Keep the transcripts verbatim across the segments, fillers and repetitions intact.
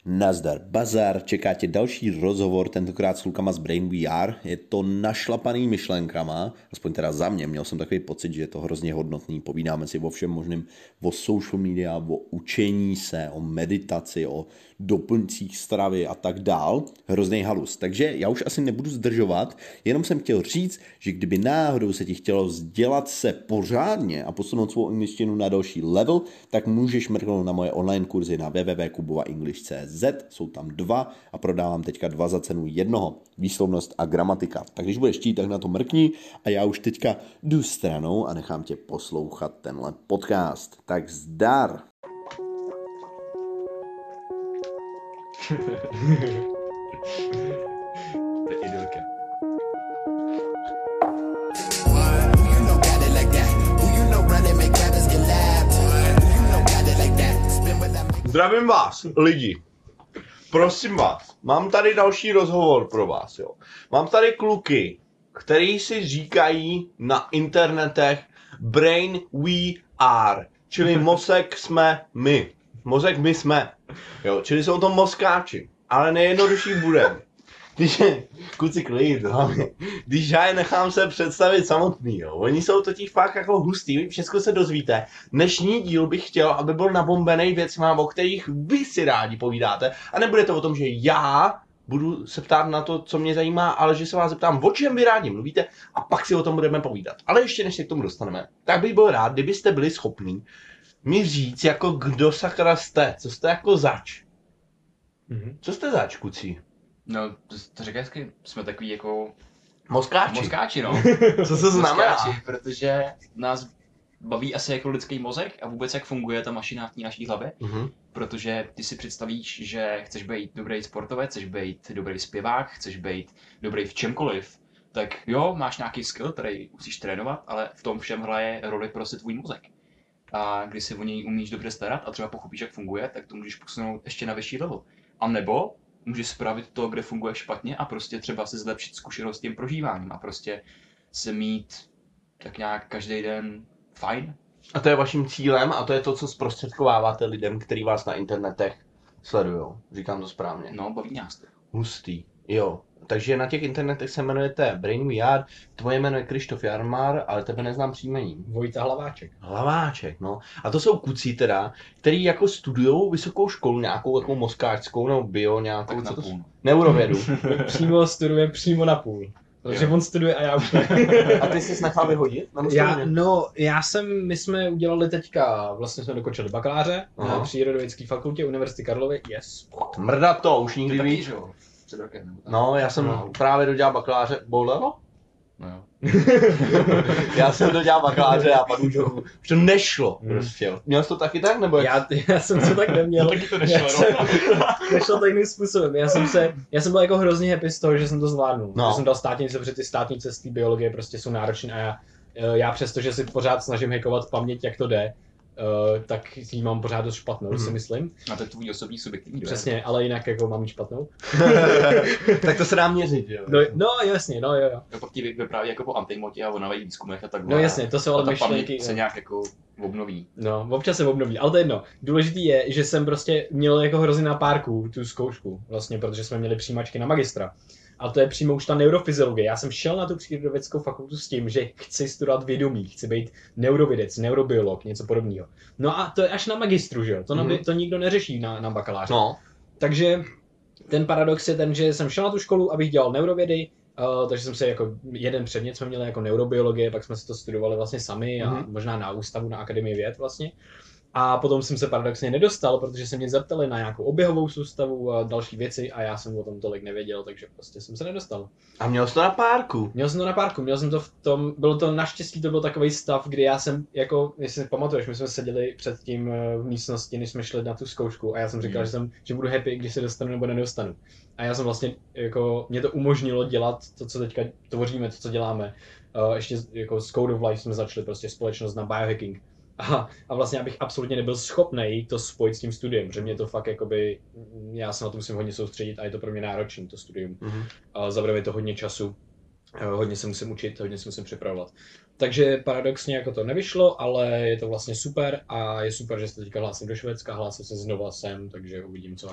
Nazdar bazar, čeká tě další rozhovor, tentokrát s klukama z Brain V R. Je to našlapaný myšlenkama, aspoň teda za mě, měl jsem takový pocit, že je to hrozně hodnotný. Povídáme si o všem možným, o social media, o učení se, o meditaci, o doplňcích stravy a tak dál. Hrozný halus. Takže já už asi nebudu zdržovat, jenom jsem chtěl říct, že kdyby náhodou se ti chtělo vzdělat se pořádně a posunout svou angličtinu na další level, tak můžeš mrknout na moje online kurzy na w w w tečka kubova english tečka c z. Jsou tam dva a prodávám teďka dva za cenu jednoho. Výslovnost a gramatika. Tak když budeš chtít, tak na to mrkni a já už teďka jdu stranou a nechám tě poslouchat tenhle podcast. Tak zdar! To je idylka. Zdravím vás, lidi. Prosím vás, mám tady další rozhovor pro vás, jo. Mám tady kluky, který si říkají na internetech Brain V R, čili mozek jsme my. Mozek my jsme, jo, čili jsou to mozkáči, ale nejjednodušší bude. Když, kluci klid, hlavně, když já je nechám se představit samotný, jo. Oni jsou totiž fakt jako hustý, všechno se dozvíte. Dnešní díl bych chtěl, aby byl nabombený věcma, o kterých vy si rádi povídáte. A nebude to o tom, že já budu se ptát na to, co mě zajímá, ale že se vás zeptám, o čem vy rádi mluvíte a pak si o tom budeme povídat. Ale ještě než se k tomu dostaneme, tak bych byl rád, kdybyste byli schopní mi říct, jako kdo sakra jste, co jste jako zač. Mhm. Co jste zač, kucí? No, to, to říká hezky, jsme takový jako Mozkáči. mozkáči, no. Co to znamená? Mozkáči, protože nás baví asi jako lidský mozek a vůbec jak funguje ta mašina v té naší hlavě. Mhm. Protože ty si představíš, že chceš být dobrý sportovec, chceš být dobrý zpěvák, chceš být dobrý v čemkoliv, tak jo, máš nějaký skill, který musíš trénovat, ale v tom všem hraje roli prostě tvůj mozek. A když si o něj umíš dobře starat a třeba pochopíš, jak funguje, tak to můžeš posunout ještě na vyšší level. A nebo můžeš spravit to, kde funguje špatně a prostě třeba si zlepšit zkušenost s tím prožíváním a prostě se mít tak nějak každý den fajn. A to je vaším cílem a to je to, co zprostředkováváte lidem, kteří vás na internetech sledujou. Říkám to správně. No, baví nás to. Hustý. Jo. Takže na těch internetech se jmenujete Brain V R, tvoje jméno je Krištof Jarmar, ale tebe neznám příjmení. Vojta Hlaváček. Hlaváček, no. A to jsou kucí teda, který jako studujou vysokou školu, nějakou jako mozkáčskou nebo bio, nějakou, Tak co to napůl. jsou? Neurovědu. Přímo studuje přímo na půl. Protože Jo. on studuje a já už ne. A ty jsi nechal vyhodit? Na Já, mozkovně? no, já jsem, my jsme udělali teďka, vlastně jsme dokončili bakaláře Aha. na Přírodovědecké fakultě Univerzity Karlovy, yes. Mrda to, už nikdy Taky, víc. že jo? Před rokem. nebo tak. No, já jsem No. právě dodělal bakaláře, bolelo? No jo. Já jsem dodělal bakaláře a pak už, už to nešlo Hmm. prostě. Měl jsi to taky tak, nebo jak? Já, já jsem to tak neměl. Taky to Já nešlo, jsem, no. nešlo to jiným způsobem. Já jsem, se, já jsem byl jako hrozně happy z toho, že jsem to zvládnul. No. Že jsem dal státnice, protože ty státnice z té biologie prostě jsou náročné a já, já přesto, že si pořád snažím hackovat paměť, jak to jde, Uh, tak ji mám pořád dost špatnou, Mhm. si myslím. A to je tvůj osobní subjektivní dojem. Přesně, ale jinak jako mám ji špatnou. Tak to se dá měřit, jo. No, no jasně, no jo, jo. Jo, pak ti vy- vypráví jako po antimotě a o nových výzkumech a tak No jasně, to jsou ale a ta myšlenky. paměť se nějak jako obnoví. No, občas se obnoví, ale to je jedno. Důležitý je, že jsem prostě měl jako hrozně na párku tu zkoušku, vlastně, protože jsme měli přijímačky na magistra. A to je přímo už ta neurofyziologie. Já jsem šel na tu přírodovědeckou fakultu s tím, že chci studovat vědomí, chci být neurovědec, neurobiolog, něco podobného. No a to je až na magistru, že jo? To, Mhm. mm. to nikdo neřeší na, na bakaláře. No. Takže ten paradox je ten, že jsem šel na tu školu, abych dělal neurovědy, uh, takže jsem se jako jeden předmět jsme měli jako neurobiologie, pak jsme si to studovali vlastně sami a Mhm. možná na ústavu, na Akademii věd vlastně. A potom jsem se paradoxně nedostal, protože se mě zeptali na nějakou oběhovou soustavu a další věci a já jsem o tom tolik nevěděl, takže prostě jsem se nedostal. A měl jsi to na párku. Měl jsem to na párku, měl jsem to v tom, bylo to naštěstí, to byl takový stav, kdy já jsem, jako, jestli si pamatuješ, my jsme seděli před tím eh, v místnosti, než jsme šli na tu zkoušku a já jsem říkal, Mm. že, jsem, že budu happy, když se dostanu nebo nedostanu. A já jsem vlastně, jako, mě to umožnilo dělat to, co teďka tvoříme, to, co děláme. Uh, ještě jako s Code of Life jsme začali prostě společnost na biohacking. A, a vlastně já bych absolutně nebyl schopný to spojit s tím studiem, že mě to fakt jakoby, já se na to musím hodně soustředit a je to pro mě náročné to studium. Mhm. A zabere to hodně času, eh, hodně se musím učit, hodně se musím připravovat. Takže paradoxně jako to nevyšlo, ale je to vlastně super a je super, že se teďka hlásím do Švédska, hlásím se znova sem, takže uvidím co a jak.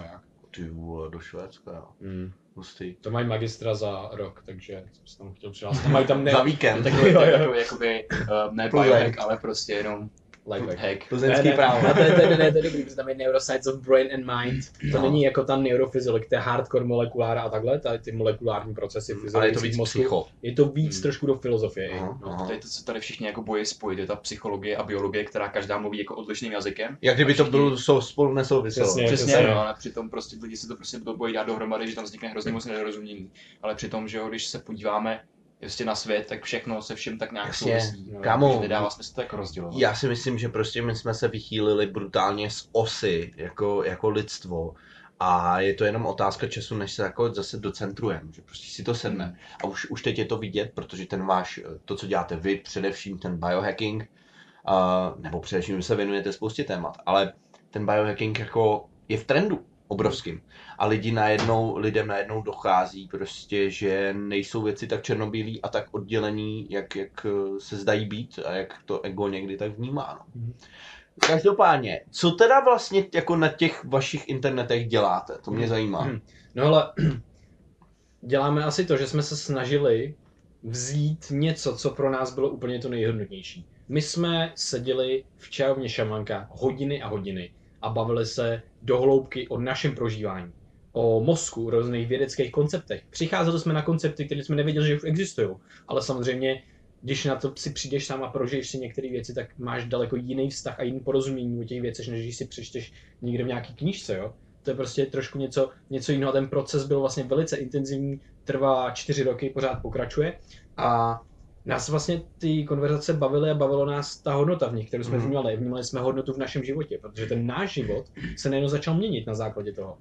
Ty vole, do Švédska, jo. Mm. Hustý. To mají magistra za rok, takže jsem se tam chtěl přihlásit. Mají tam ne... Za víkend. Takový, takový, jakoby, uh, ne biohack, ale prostě jenom Lifehack. hack. Plzeňský ne, právo. ne, to, je, to, je, to, je, to je dobrý, protože tam je neuroscience of brain and mind. To No. není jako ta neurophysiolog, to je hardcore molekulára a takhle, tady ty molekulární procesy Ale je to fyziologických víc mozku. psycho. Je to víc Hmm. trošku do filozofie. Aha, No. aha. To je to, co tady všichni jako bojí spojit, je ta psychologie a biologie, která každá mluví jako odlišným jazykem. Jak kdyby to Všichni- bylo sou, spolu nesouviselo. Přesně. Přesně, přesně. no, ale přitom prostě lidi si to prostě bojí dát dohromady, že tam vznikne hrozně moc nedorozumění. Ale přitom, že jo, když se podíváme prostě na svět, tak všechno se všem tak nějak Jasně. souvisí. No, Kámo, Takže nedává smysl to jako rozdělovat. já si myslím, že prostě my jsme se vychýlili brutálně z osy jako, jako lidstvo. A je to jenom otázka času, než se jako zase docentrujeme, že prostě si to sedne. A už, už teď je to vidět, protože ten váš, to, co děláte vy, především ten biohacking, uh, nebo především vy se věnujete spoustě témat, ale ten biohacking jako je v trendu obrovským. A lidi najednou, lidem najednou dochází prostě, že nejsou věci tak černobílý a tak oddělení, jak, jak se zdají být a jak to ego někdy tak vnímá. No. Mhm. Každopádně, co teda vlastně jako na těch vašich internetech děláte? To mě zajímá. Hmm. No ale děláme asi to, že jsme se snažili vzít něco, co pro nás bylo úplně to nejhodnotnější. My jsme seděli v čajovně Šamanka hodiny a hodiny a bavili se do hloubky o našem prožívání, o mozku, o různých vědeckých konceptech. Přicházeli jsme na koncepty, které jsme nevěděli, že už existují, ale samozřejmě, když na to si přijdeš sám a prožiješ si některé věci, tak máš daleko jiný vztah a jiný porozumění o těch věcech, než když si přečteš někde v nějaký knížce, jo. To je prostě trošku něco, něco jiného. Ten proces byl vlastně velice intenzivní, trvá čtyři roky, pořád pokračuje a nás vlastně ty konverzace bavily a bavilo nás ta hodnota v nich, kterou jsme Mhm. vnímali. Vnímali jsme hodnotu v našem životě, protože ten náš život se najednou začal měnit na základě toho.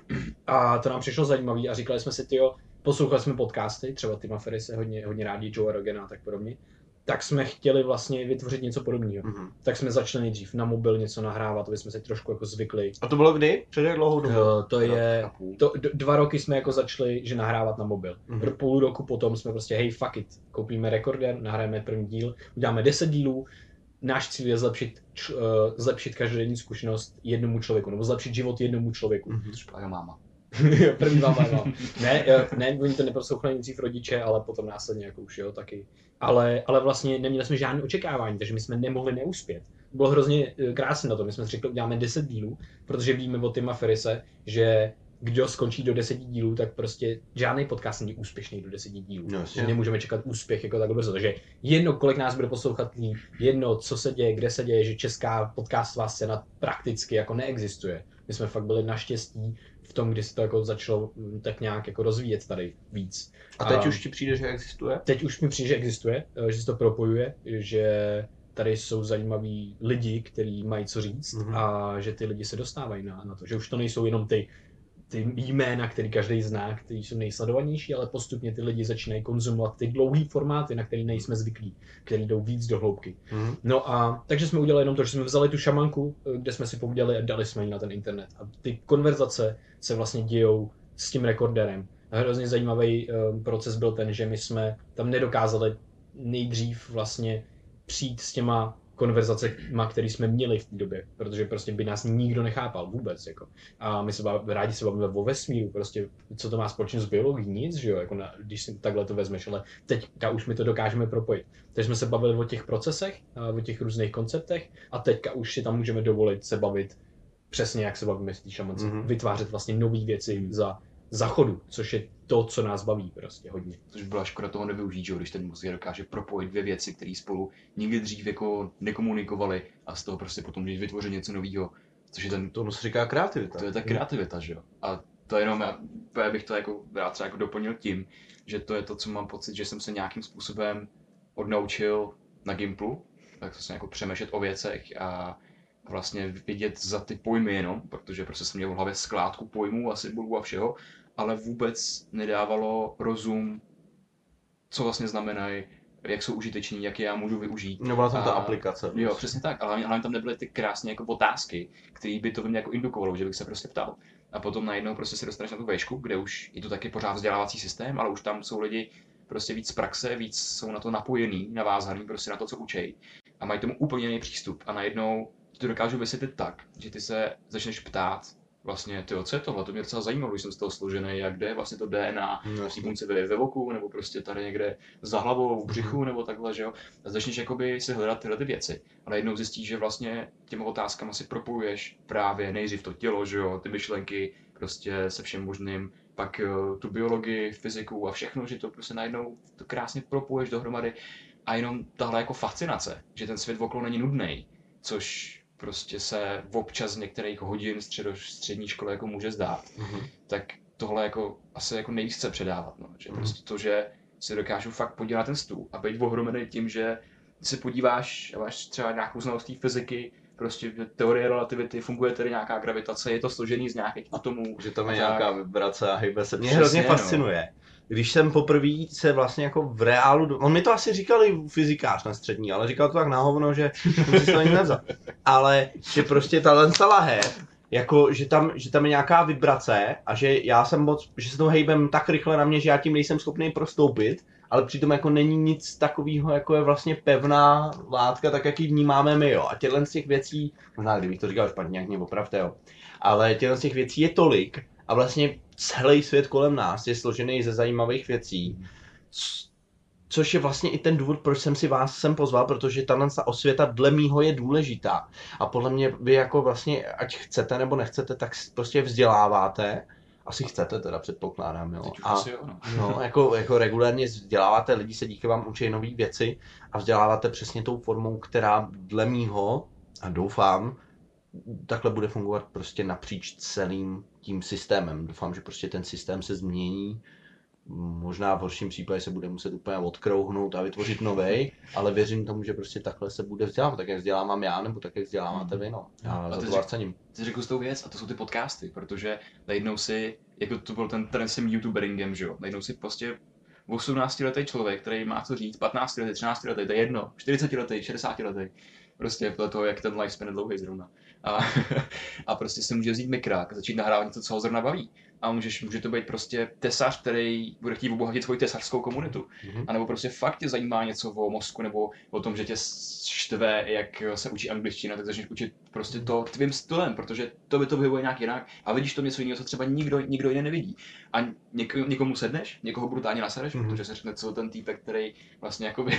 A to nám přišlo zajímavé a říkali jsme si, tyjo, poslouchali jsme podcasty, třeba Tima Ferrise hodně, hodně rádi, Joe Rogana a tak podobně, tak jsme chtěli vlastně vytvořit něco podobného. Mhm. Tak jsme začali nejdřív na mobil něco nahrávat, aby jsme si trošku jako zvykli. A to bylo kdy? Před jak dlouhou dobu? Uh, to je, Rok a půl. to, d- dva roky jsme jako začali, že nahrávat na mobil. Mhm. Pro půl roku potom jsme prostě, hej, fuck it, koupíme rekorder, nahrajeme první díl, uděláme deset dílů, náš cíl je zlepšit, č, uh, zlepšit každodenní zkušenost jednomu člověku, nebo zlepšit život jednomu člověku. Mhm. Což byla máma. První vám mám. Ne, eh, ne, oni to neposlouchali nejdřív rodiče, ale potom následně jako už jo, taky. Ale, ale vlastně neměli jsme žádné očekávání, takže my jsme nemohli neuspět. Bylo hrozně eh, krásné na to, my jsme si řekli, uděláme deset dílů, protože víme od Tima Ferrise, že kdo skončí do deseti dílů, tak prostě žádný podcast není úspěšný do deseti dílů. No, jasně. Že nemůžeme čekat úspěch jako tak brzo. Takže jedno, kolik nás bude poslouchat lidí, jedno, co se děje, kde se děje, že česká podcastová scéna prakticky jako neexistuje. My jsme fakt byli naštěstí v tom, kdy se to jako začalo mm, tak nějak jako rozvíjet tady víc. A teď A- už ti přijde, že existuje? Teď už mi přijde, že existuje, eh, že se to propojuje, že tady jsou zajímaví lidi, kteří mají co říct Mhm. a že ty lidi se dostávají na, na to, že už to nejsou jenom ty, ty jména, který každý zná, kteří jsou nejsledovanější, ale postupně ty lidi začínají konzumovat ty dlouhé formáty, na který nejsme zvyklí, který jdou víc do hloubky. Mhm. No a takže jsme udělali jenom to, že jsme vzali tu šamanku, eh, kde jsme si povídali a dali jsme ji na ten internet. A ty konverzace se vlastně dějou s tím rekorderem. A hrozně zajímavý um, proces byl ten, že my jsme tam nedokázali nejdřív vlastně přijít s těma konverzacema, které jsme měli v té době, protože prostě by nás nikdo nechápal vůbec, jako. A my se bav, rádi se bavíme o vesmíru, prostě, co to má společně s biologií, nic, že jo, jako na, když si takhle to vezmeš, ale teďka už my to dokážeme propojit. Takže jsme se bavili o těch procesech, a o těch různých konceptech a teďka už si tam můžeme dovolit se bavit přesně, jak se bavíme s té šamance, Mhm. vytvářet vlastně nové věci za, za chodu, což je to, co nás baví prostě hodně. Což byla škoda toho nevyužít, že jo, když ten mozek dokáže propojit dvě věci, které spolu nikdy dřív jako nekomunikovali a z toho prostě potom když vytvořit něco nového, což je ten, Tomu se říká kreativita. to je ta kreativita, že jo. A to jenom, já, já bych to jako rád třeba jako doplnil tím, že to je to, co mám pocit, že jsem se nějakým způsobem odnaučil na Gimplu, tak jsem jako přemýšlet o věcech a vlastně vidět za ty pojmy jenom, protože prostě jsem měl v hlavě skládku pojmů a symbolů a všeho, ale vůbec nedávalo rozum, co vlastně znamenají, jak jsou užiteční, jak je já můžu využít. No byla tam ta A- aplikace. Jo, přesně tak, ale hlavně, hlavně tam nebyly ty krásné jako otázky, které by to ve mně jako indukovalo, že bych se prostě ptal. A potom najednou prostě se dostaneš na tu vejšku, kde už je to taky pořád vzdělávací systém, ale už tam jsou lidi prostě víc z praxe, víc jsou na to napojení, navázaný prostě na to, co učej. A mají tomu úplně jiný přístup. A najednou ti to dokážu vysvětlit tak, že ty se začneš ptát vlastně tyjo, co je tohle, to mě docela zajímalo, když jsem z toho složený, jak jde vlastně to D N A, No, v punce ve, ve voku, nebo prostě tady někde za hlavou, v břichu, nebo takhle, že jo. A začneš jakoby si hledat tyhle ty věci. A najednou zjistíš, že vlastně těma otázkama si propojuješ právě nejdřív to tělo, že jo, ty myšlenky, prostě se všem možným, pak uh, tu biologii, fyziku a všechno, že to prostě najednou to krásně propoješ dohromady. A jenom tahle jako fascinace, že ten svět okolo není nudný, což prostě se občas z některých hodin středo, střední školy jako může zdát, mm-hmm. tak tohle jako asi jako nejvíc chce předávat, no. Že Mm-hmm. prostě to, že si dokážu fakt podívat na ten stůl a být ohromený tím, že si podíváš a máš třeba nějakou znalost té fyziky, prostě teorie relativity, funguje tady nějaká gravitace, je to složený z nějakých atomů. Že tam je a nějaká tak. vibrace a hejbe se. Mě Přesně, hrozně no. fascinuje. Když jsem poprvé se vlastně jako v reálu, on mi to asi říkal i fyzikář na střední, ale říkal to tak na hovno, že jsem si to ani nevzal. Ale že prostě tahle lahev, jako že tam, že tam je nějaká vibrace a že já jsem moc, že se to hejbem tak rychle na mě, že já tím nejsem schopný prostoupit, ale přitom jako není nic takového, jako je vlastně pevná látka, tak jak ji vnímáme my, jo. A těchto z těch věcí, možná kdybych to říkal špatně, jak mě opravte, jo. Ale těchto z těch věcí je tolik a vlastně celý svět kolem nás je složený ze zajímavých věcí, což je vlastně i ten důvod, proč jsem si vás sem pozval, protože tahle osvěta dle mýho je důležitá. A podle mě vy jako vlastně, ať chcete nebo nechcete, tak prostě vzděláváte. Asi chcete teda, předpokládám, jo. Teď už A asi jo, no. no, jako, jako regulérně vzděláváte, lidi se díky vám učí nové věci a vzděláváte přesně tou formou, která dle mýho, a doufám, takhle bude fungovat prostě napříč celým tím systémem. Doufám, že prostě ten systém se změní. Možná v horším případě se bude muset úplně odkrouhnout a vytvořit novej, ale věřím tomu, že prostě takhle se bude vzdělávat, tak jak vzdělávám já, nebo tak jak vzděláváte vy, no. Já A za ty to řek- vás cením. Ty řekl s tou věc a to jsou ty podcasty, protože najednou si, jako to byl ten trend s tím youtuberingem, že jo, najednou si prostě osmnáctiletý člověk, který má co říct, patnáctiletý, třináctiletý, to je jedno, čtyřicetiletý, šedesátiletý, prostě podle toho, jak ten lifespan je dlouhý zrovna. A, a prostě si může vzít mikrák, začít nahrávat něco, co ho zrovna baví. A můžeš, může to být prostě tesař, který bude chtít obohatit svoji tesařskou komunitu. Mhm. A nebo prostě fakt tě zajímá něco o mozku, nebo o tom, že tě štve, jak se učí angličtina, tak začneš učit prostě to tvým stylem, protože to by to vyhovuje nějak jinak. A vidíš to něco jiného, co třeba nikdo, nikdo jiný nevidí. A něk, někomu sedneš, někoho brutálně nasereš, Mhm. protože se řekne, co ten týpek, který vlastně jakoby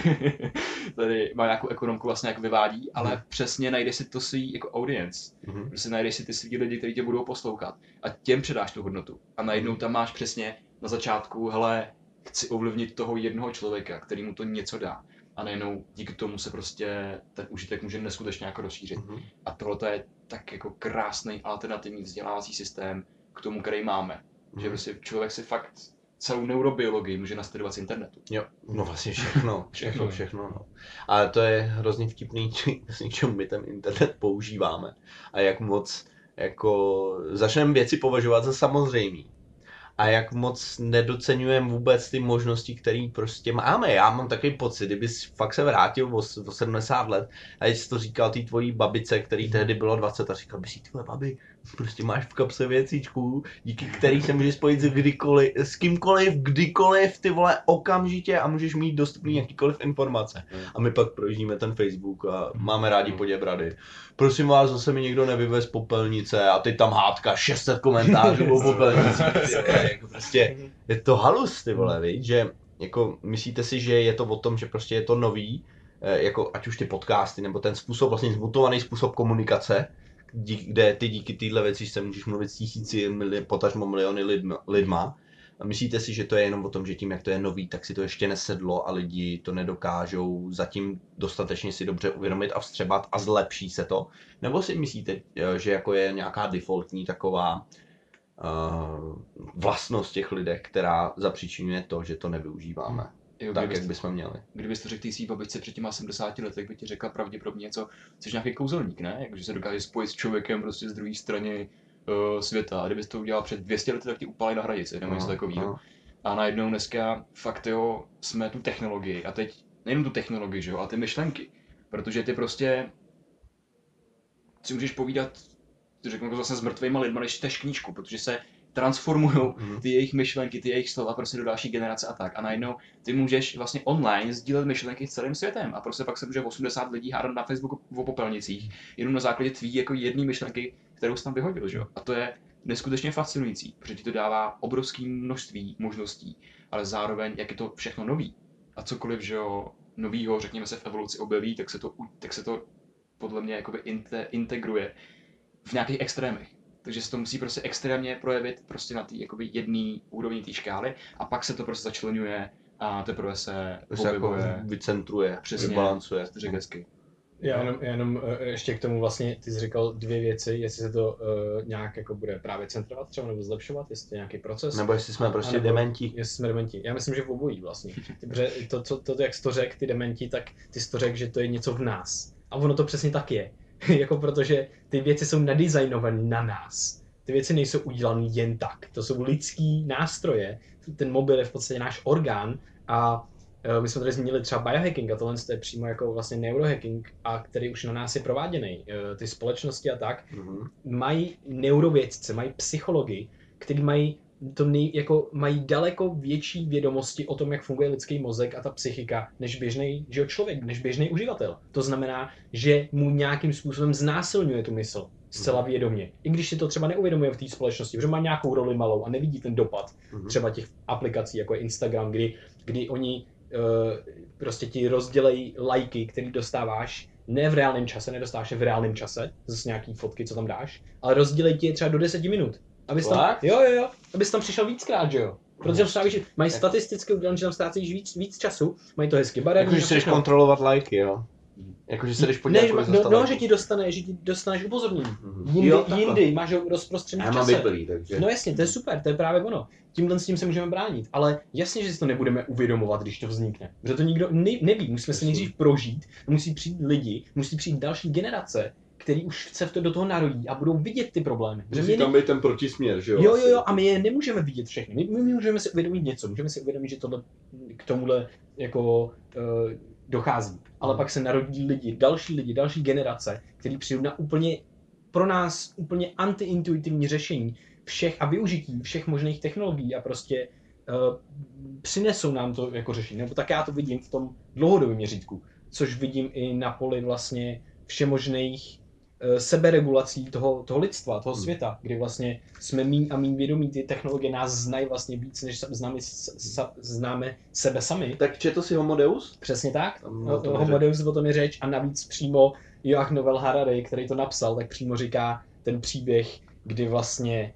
tady má nějakou ekonomku, vlastně jako vyvádí, ale Mhm. přesně najdeš si to svý jako audience. Mhm. Prostě najdeš si ty svý lidi, kteří tě budou poslouchat a těm předáš tu hodnotu. A najednou tam máš přesně na začátku, hele, chci ovlivnit toho jednoho člověka, který mu to něco dá. A najednou díky tomu se prostě ten užitek může neskutečně jako rozšířit. Mhm. A tohle je tak jako krásný alternativní vzdělávací systém k tomu, který máme. Že Mhm. prostě člověk si fakt celou neurobiologii může nastudovat z internetu. Jo, no vlastně všechno, všechno, Všechno. všechno, no. Ale to je hrozně vtipný, k čemu my ten internet používáme. A jak moc, jako, začneme věci považovat za samozřejmý. A jak moc nedoceňujeme vůbec ty možnosti, které prostě máme. Já mám takový pocit, kdyby fakt se vrátil o, o sedmdesát let a jsi to říkal té tvojí babice, který tehdy bylo dvacet a říkal by si, tyhle babi, prostě máš v kapse věcičku, díky který se můžeš spojit s, kdykoliv, s kýmkoliv, kdykoliv, ty vole, okamžitě a můžeš mít dostupný jakýkoliv informace. A my pak projíždíme ten Facebook a máme rádi poděbrady. Prosím vás, zase mi někdo nevyvez popelnice a teď tam hádka šest set komentářů o popelnicích. Jako prostě je to halus, ty vole, viď? Že jako myslíte si, že je to o tom, že prostě je to nový, jako ať už ty podcasty, nebo ten způsob, vlastně zmutovaný způsob komunikace, dík, kde ty díky téhle věci se můžeš mluvit s tisíci, mili, potažmo miliony lidma, lidma. A myslíte si, že to je jenom o tom, že tím, jak to je nový, tak si to ještě nesedlo a lidi to nedokážou zatím dostatečně si dobře uvědomit a vstřebat a zlepší se to? Nebo si myslíte, že jako je nějaká defaultní taková uh, vlastnost těch lidech, která zapříčinuje to, že to nevyužíváme Jo, tak, kdybys- jak bychom měli? Kdybys to řekl té svý babičce před těma sedmdesáti lety, tak by ti řekla pravděpodobně něco, jsi nějaký kouzelník, ne? Jakože se dokáže spojit s člověkem prostě z druhé strany uh, světa. A kdybys to udělal před dvě stě lety, tak ti upálí na hradici, nebo něco takového. A najednou dneska fakt jo, jsme tu technologii. A teď nejen tu technologii, že jo, ale ty myšlenky. Protože ty prostě si můžeš povídat, ty řeknu to zase s mrtvýma lidma, než čteš knížku, protože se transformují ty jejich myšlenky, ty jejich slova prostě do další generace a tak. A najednou ty můžeš vlastně online sdílet myšlenky s celým světem a prostě pak se může osmdesát lidí hádat na Facebooku o popelnicích, jenom na základě tvý jako jedné myšlenky, kterou jsi tam vyhodil, že jo. A to je neskutečně fascinující, protože ti to dává obrovské množství možností, ale zároveň, jak je to všechno nový. A cokoliv, že jo, novýho, řekněme se v evoluci objeví, tak se to, tak se to podle mě jakoby inte, integruje v nějakých extrémech. Takže se to musí prostě extrémně projevit prostě na té jakoby jedné úrovni té škály a pak se to prostě začlenuje a teprve se objevuje. Jako vycentruje, přesně, vybalancuje. Řekl hezky. Já jenom, já jenom ještě k tomu vlastně, ty jsi říkal dvě věci, jestli se to uh, nějak jako bude právě centrovat třeba nebo zlepšovat, jestli to je nějaký proces. Nebo jestli jsme a, prostě nebo, dementi. Jestli jsme dementi. Já myslím, že v obojí vlastně. Protože to, to, to, to, jak jsi to řekl, ty dementi, tak ty jsi to řekl, že to je něco v nás. A ono to přesně tak je. Jako protože ty věci jsou nadizajnované na nás. Ty věci nejsou udělané jen tak. To jsou lidský nástroje. Ten mobil je v podstatě náš orgán a my jsme tady zmínili třeba biohacking a tohle je přímo jako vlastně neurohacking, a který už na nás je prováděný. Ty společnosti a tak mm-hmm. mají neurovědce, mají psychologi, kteří mají, to nej, jako mají daleko větší vědomosti o tom, jak funguje lidský mozek a ta psychika, než běžný člověk, než běžný uživatel. To znamená, že mu nějakým způsobem znásilňuje tu mysl zcela vědomě. I když si to třeba neuvědomuje v té společnosti, protože má nějakou roli malou a nevidí ten dopad mm-hmm. třeba těch aplikací, jako je Instagram, kdy, kdy oni Uh, prostě ti rozdělejí lajky, který dostáváš ne v reálném čase, nedostáváš je v reálném čase, zase nějaký fotky, co tam dáš, ale rozdělejí ti je třeba do deseti minut. Abys tam, jo, jo, jo, abys tam přišel víckrát, že jo. Protože tam strávíš, mají statisticky udělané, že tam ztrácíš víc, víc času, mají to hezky barevné. Jakože si jdeš kontrolovat lajky, jo. Jakože se jdeš podívat, ne, no, no, že ti dostane, že ti dostaneš upozornění. Mm-hmm. Jindy, jo, jindy máš ho rozprostřený v čase. Já mám vyplý, takže. No jasně, to je super, to je právě ono. Tímhle s tím se můžeme bránit, ale jasně, že si to nebudeme uvědomovat, když to vznikne. Protože to nikdo ne, neví, musíme se nejdřív prožít, musí přijít lidi, musí přijít další generace, který už se v to do toho narodí a budou vidět ty problémy. Musí tam být ten protisměr, že jo? Jo, jo, jo, a my je nemůžeme vidět všechny. My, my můžeme si uvědomit něco, můžeme si uvědomit, že tohle k tomuhle jako uh, dochází. Ale hmm. pak se narodí lidi, další lidi, další generace, kteří přijdou na úplně pro nás úplně antiintuitivní řešení všech a využití všech možných technologií a prostě uh, přinesou nám to jako řešení. Nebo tak já to vidím v tom dlouhodobém měřítku, což vidím i na poli vlastně všemožných uh, seberegulací toho, toho lidstva, toho hmm. světa, kdy vlastně jsme míň a míň vědomí, ty technologie nás znají vlastně víc, než známe, známe sebe sami. Tak četl si Homo Deus? Přesně tak, no, Homo Deus o tom je řeč a navíc přímo Joach Novel Harari, který to napsal, tak přímo říká ten příběh, kdy vlastně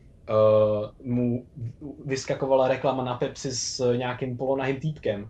uh, mu vyskakovala reklama na Pepsi s nějakým polonahým týpkem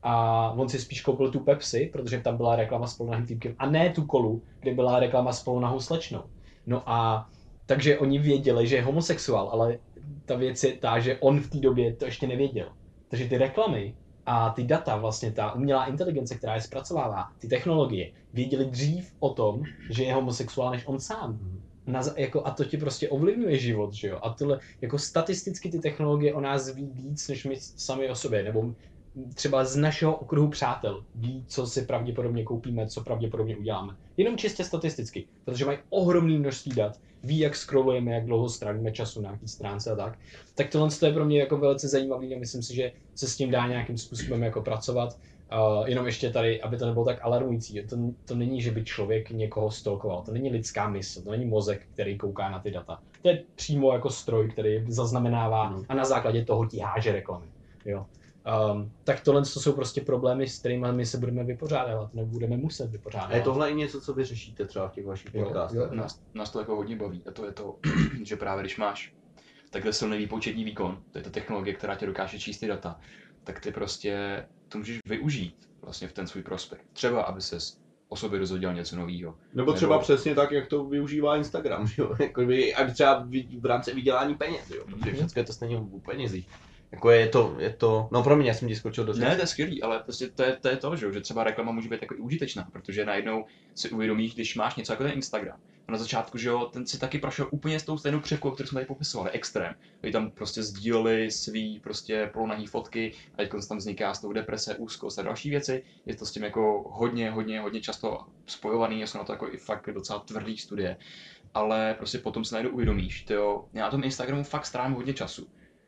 a on si spíš koupil tu Pepsi, protože tam byla reklama s polonahým týpkem a ne tu kolu, kde byla reklama s polonahou slečnou. No a takže oni věděli, že je homosexuál, ale ta věc je ta, že on v té době to ještě nevěděl. Takže ty reklamy a ty data, vlastně ta umělá inteligence, která je zpracovává, ty technologie, věděli dřív o tom, že je homosexuál, než on sám. Na, jako, a to ti prostě ovlivňuje život, že jo? A tyhle, jako statisticky ty technologie o nás ví víc, než my sami o sobě, nebo třeba z našeho okruhu přátel ví, co si pravděpodobně koupíme, co pravděpodobně uděláme. Jenom čistě statisticky, protože mají ohromné množství dat, ví, jak scrollujeme, jak dlouho strávíme času na nějaký stránce a tak. Tak tohle je pro mě jako velice zajímavý a myslím si, že se s tím dá nějakým způsobem jako pracovat. Uh, jenom ještě tady, aby to nebylo tak alarmující. To, to není, že by člověk někoho stalkoval. To není lidská mysl, to není mozek, který kouká na ty data. To je přímo jako stroj, který zaznamenává mm. a na základě toho ti háže reklamy. Jo. Um, tak tohle to jsou prostě problémy, s kterými my se budeme vypořádávat, nebo budeme muset vypořádávat. A je tohle i něco, co vy řešíte třeba v těch vašich podcastech? Nás, nás to jako hodně baví a to je to, že právě když máš takhle silný výpočetní výkon, to je ta technologie, která tě dokáže číst ty data, tak ty prostě to můžeš využít vlastně v ten svůj prospekt. Třeba, aby ses o sobě dozvěděl něco nového. Nebo třeba Nebo... přesně tak, jak to využívá Instagram, jo? Jako by, a třeba v rámci vydělání peněz, jo? Protože všechno je to stejně o penězích. Jako je to, je to, no pro mě, já jsem ti skočil do Ne, to je skvělý, ale prostě to je, to je to, že, že třeba reklama může být jako i užitečná, protože najednou si uvědomíš, když máš něco jako ten Instagram. A na začátku, že jo, ten si taky prošel úplně s tou stejnou křivkou, kterou jsme tady popisovali, extrém. Kdy tam prostě sdíleli svý prostě polonahý fotky a teď tam vzniká s tou deprese, úzkost a další věci. Je to s tím jako hodně, hodně, hodně často spojovaný, jsou na to jako i fakt docela tvrdý studie. Ale prostě potom si najednou uvědomíš, tyjo, já na tom Instagramu fakt strávím hodně času.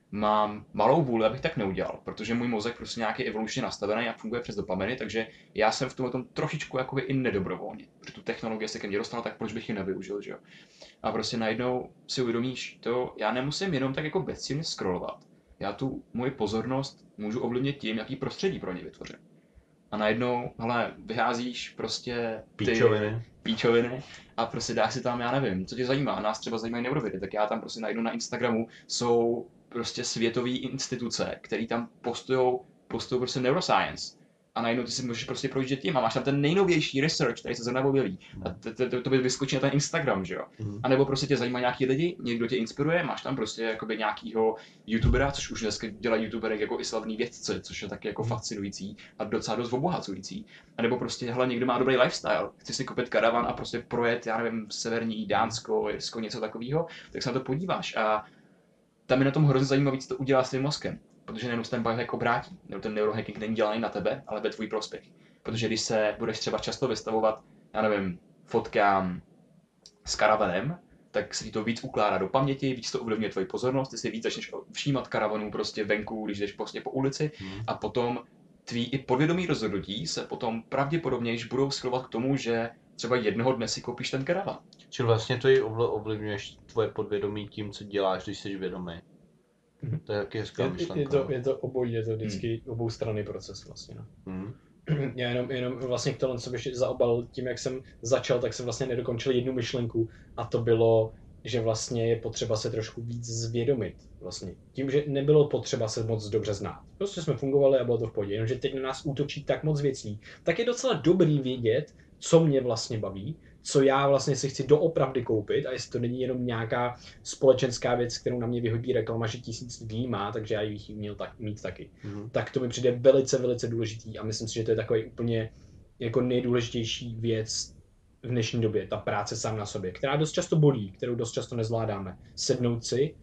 Mám malou vůli, abych tak neudělal, protože můj mozek prostě nějaký evolučně nastavený a funguje přes dopaminy, takže já jsem v tomhle tom trošičku jakoby i nedobrovolně. Protože tu technologii se ke mně dostala, tak proč bych ji nevyužil, že jo? A prostě najednou si uvědomíš, to já nemusím jenom tak jako bezcílně scrollovat. Já tu moji pozornost můžu ovlivnit tím, jaký prostředí pro ně vytvořím. A najednou, hele, vyházíš prostě ty Píčoviny. píčoviny a prostě dáš si tam, já nevím, co tě zajímá, nás třeba zajímají neurovědy, tak já tam prostě najdu na Instagramu, jsou prostě světové instituce, které tam postujou, postujou prostě neuroscience. A najednou ty si můžeš prostě projíždět tím a máš tam ten nejnovější research, který se zrovna objeví. A to, to, to by vyskočí na ten Instagram, že jo? Mm. A nebo prostě tě zajímá nějaký lidi, někdo tě inspiruje, máš tam prostě jakoby nějakýho youtubera, což už dneska dělají youtubery jako i slavný vědci, což je taky jako fascinující a docela dost obohacující. A nebo prostě, hele, někdo má dobrý lifestyle, chci si koupit karavan a prostě projet, já nevím, severní Dánsko, Irsko, něco takového, tak se na to podíváš a tam je na tom hrozně zajímavý, co to udělá s tím mozkem. Protože nejenom se ten biohack obrátí, nebo ten neurohacking není dělaný na tebe, ale ve tvůj prospěch. Protože když se budeš třeba často vystavovat, já nevím, fotkám s karavanem, tak se ti to víc ukládá do paměti, víc to ovlivňuje tvoji pozornost, ty si víc začneš všímat karavanů prostě venku, když jdeš prostě po ulici hmm. a potom tvý i podvědomí rozhodnutí se potom pravděpodobně již budou schylovat k tomu, že třeba jednoho dne si koupíš ten karavan. Čili vlastně to i ovlivňuješ tvoje podvědomí tím, co děláš, když jsi vědomý. Mm-hmm. To je taky hezká myšlenka. Je, je, to, je to obojí, je to vždycky mm. oboustranný proces vlastně. No. Mm. Já jenom, jenom vlastně k tomu, co bych zaobal tím, jak jsem začal, tak jsem vlastně nedokončil jednu myšlenku a to bylo, že vlastně je potřeba se trošku víc zvědomit. Vlastně. Tím, že nebylo potřeba se moc dobře znát. Prostě jsme fungovali a bylo to v pohodě, jenomže teď na nás útočí tak moc věcí. Tak je docela dobrý vědět, co mě vlastně baví, co já vlastně si chci doopravdy koupit a jestli to není jenom nějaká společenská věc, kterou na mě vyhodí reklama, že tisíc lidí má, takže já bych ji měl tak, mít taky. Mm-hmm. Tak to mi přijde velice, velice důležitý a myslím si, že to je takový úplně jako nejdůležitější věc v dnešní době, ta práce sám na sobě, která dost často bolí, kterou dost často nezvládáme. Sednout si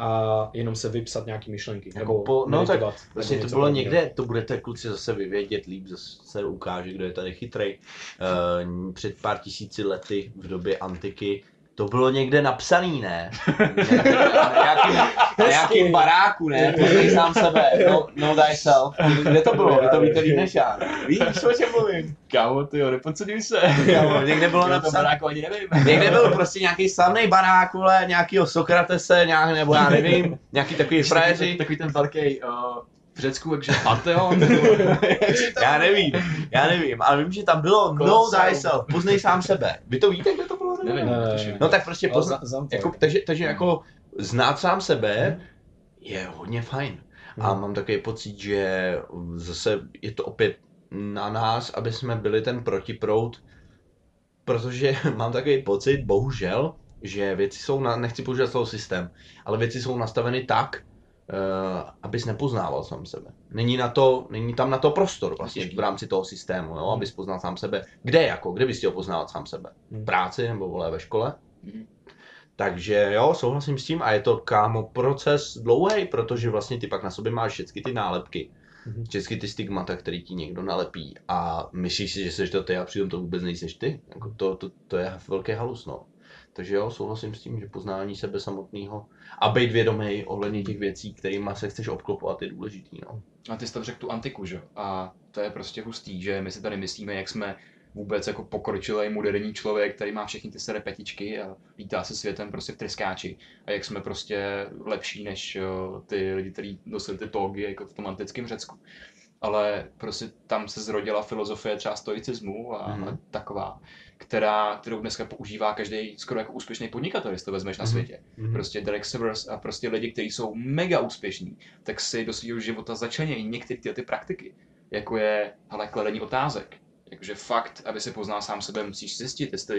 a jenom se vypsat nějaký myšlenky, jako nebo po, no tak vlastně to bylo někde, někde, to budete kluci zase vyvědět líp, zase se ukáže, kdo je tady chytrej. Uh, před pár tisíci lety v době antiky to bylo někde napsaný, ne? Na nějakým, na nějakým baráku, ne? Poznej sám sebe, no, no thyself. Kde to bylo? Vy to víte líp než já. Víš, o čem mluvím? Kámo, tyjo, nepodceňuj se. Kámo, někde bylo napsané. Baráku ani nevím. Někde byl prostě nějaký slavný barák, vole, nějakýho Sokratese, nějak, nebo já nevím, nějaký takový frajeři. Takový ten velký uh, v Řecku, takže Pantheon. Já nevím, já nevím, ale vím, že tam bylo no thyself, poznej sám sebe. Vy to víte, kde to bylo? Nevím. Ne, no tak prostě pozna, jako, takže, takže jako znát sám sebe je hodně fajn. A mám takový pocit, že zase je to opět na nás, aby jsme byli ten protiproud, protože mám takový pocit, bohužel, že věci jsou, na, nechci používat slovo systém, ale věci jsou nastaveny tak, Uh, abys nepoznával sám sebe. Není, na to, není tam na to prostor vlastně v rámci toho systému, jo? Abys poznal sám sebe. Kde jako? Kde bys chtěl poznávat sám sebe? V práci nebo vole ve škole? Mm. Takže jo, souhlasím s tím a je to, kámo, proces dlouhý, protože vlastně ty pak na sobě máš všechny ty nálepky. Mm. Všechny ty stigmata, který ti někdo nalepí a myslíš si, že jsi to ty a přitom to vůbec nejseš ty. Jako to, to, to je velký halus, no. Takže jo, souhlasím s tím, že poznání sebe samotného a být vědomý ohledně těch věcí, kterými se chceš obklopovat, je důležitý. No. A ty jsi tam řekl tu antiku, že? A to je prostě hustý, že my si tady myslíme, jak jsme vůbec jako pokročilý moderní člověk, který má všechny ty staré petičky a lítá se světem prostě v tryskáči. A jak jsme prostě lepší než ty lidi, kteří nosili ty togy jako v tom antickém Řecku. Ale prostě tam se zrodila filozofie třeba stoicismu a mm. taková, která, kterou dneska používá každý skoro jako úspěšný podnikatel, jestli to vezmeš na světě. Mm. Prostě Derek Sivers a prostě lidi, kteří jsou mega úspěšní, tak si do svého života začlenějí některé ty, ty praktiky, jako je hele, kladení otázek. Jakože fakt, aby si poznal sám sebe, musíš zjistit, jestli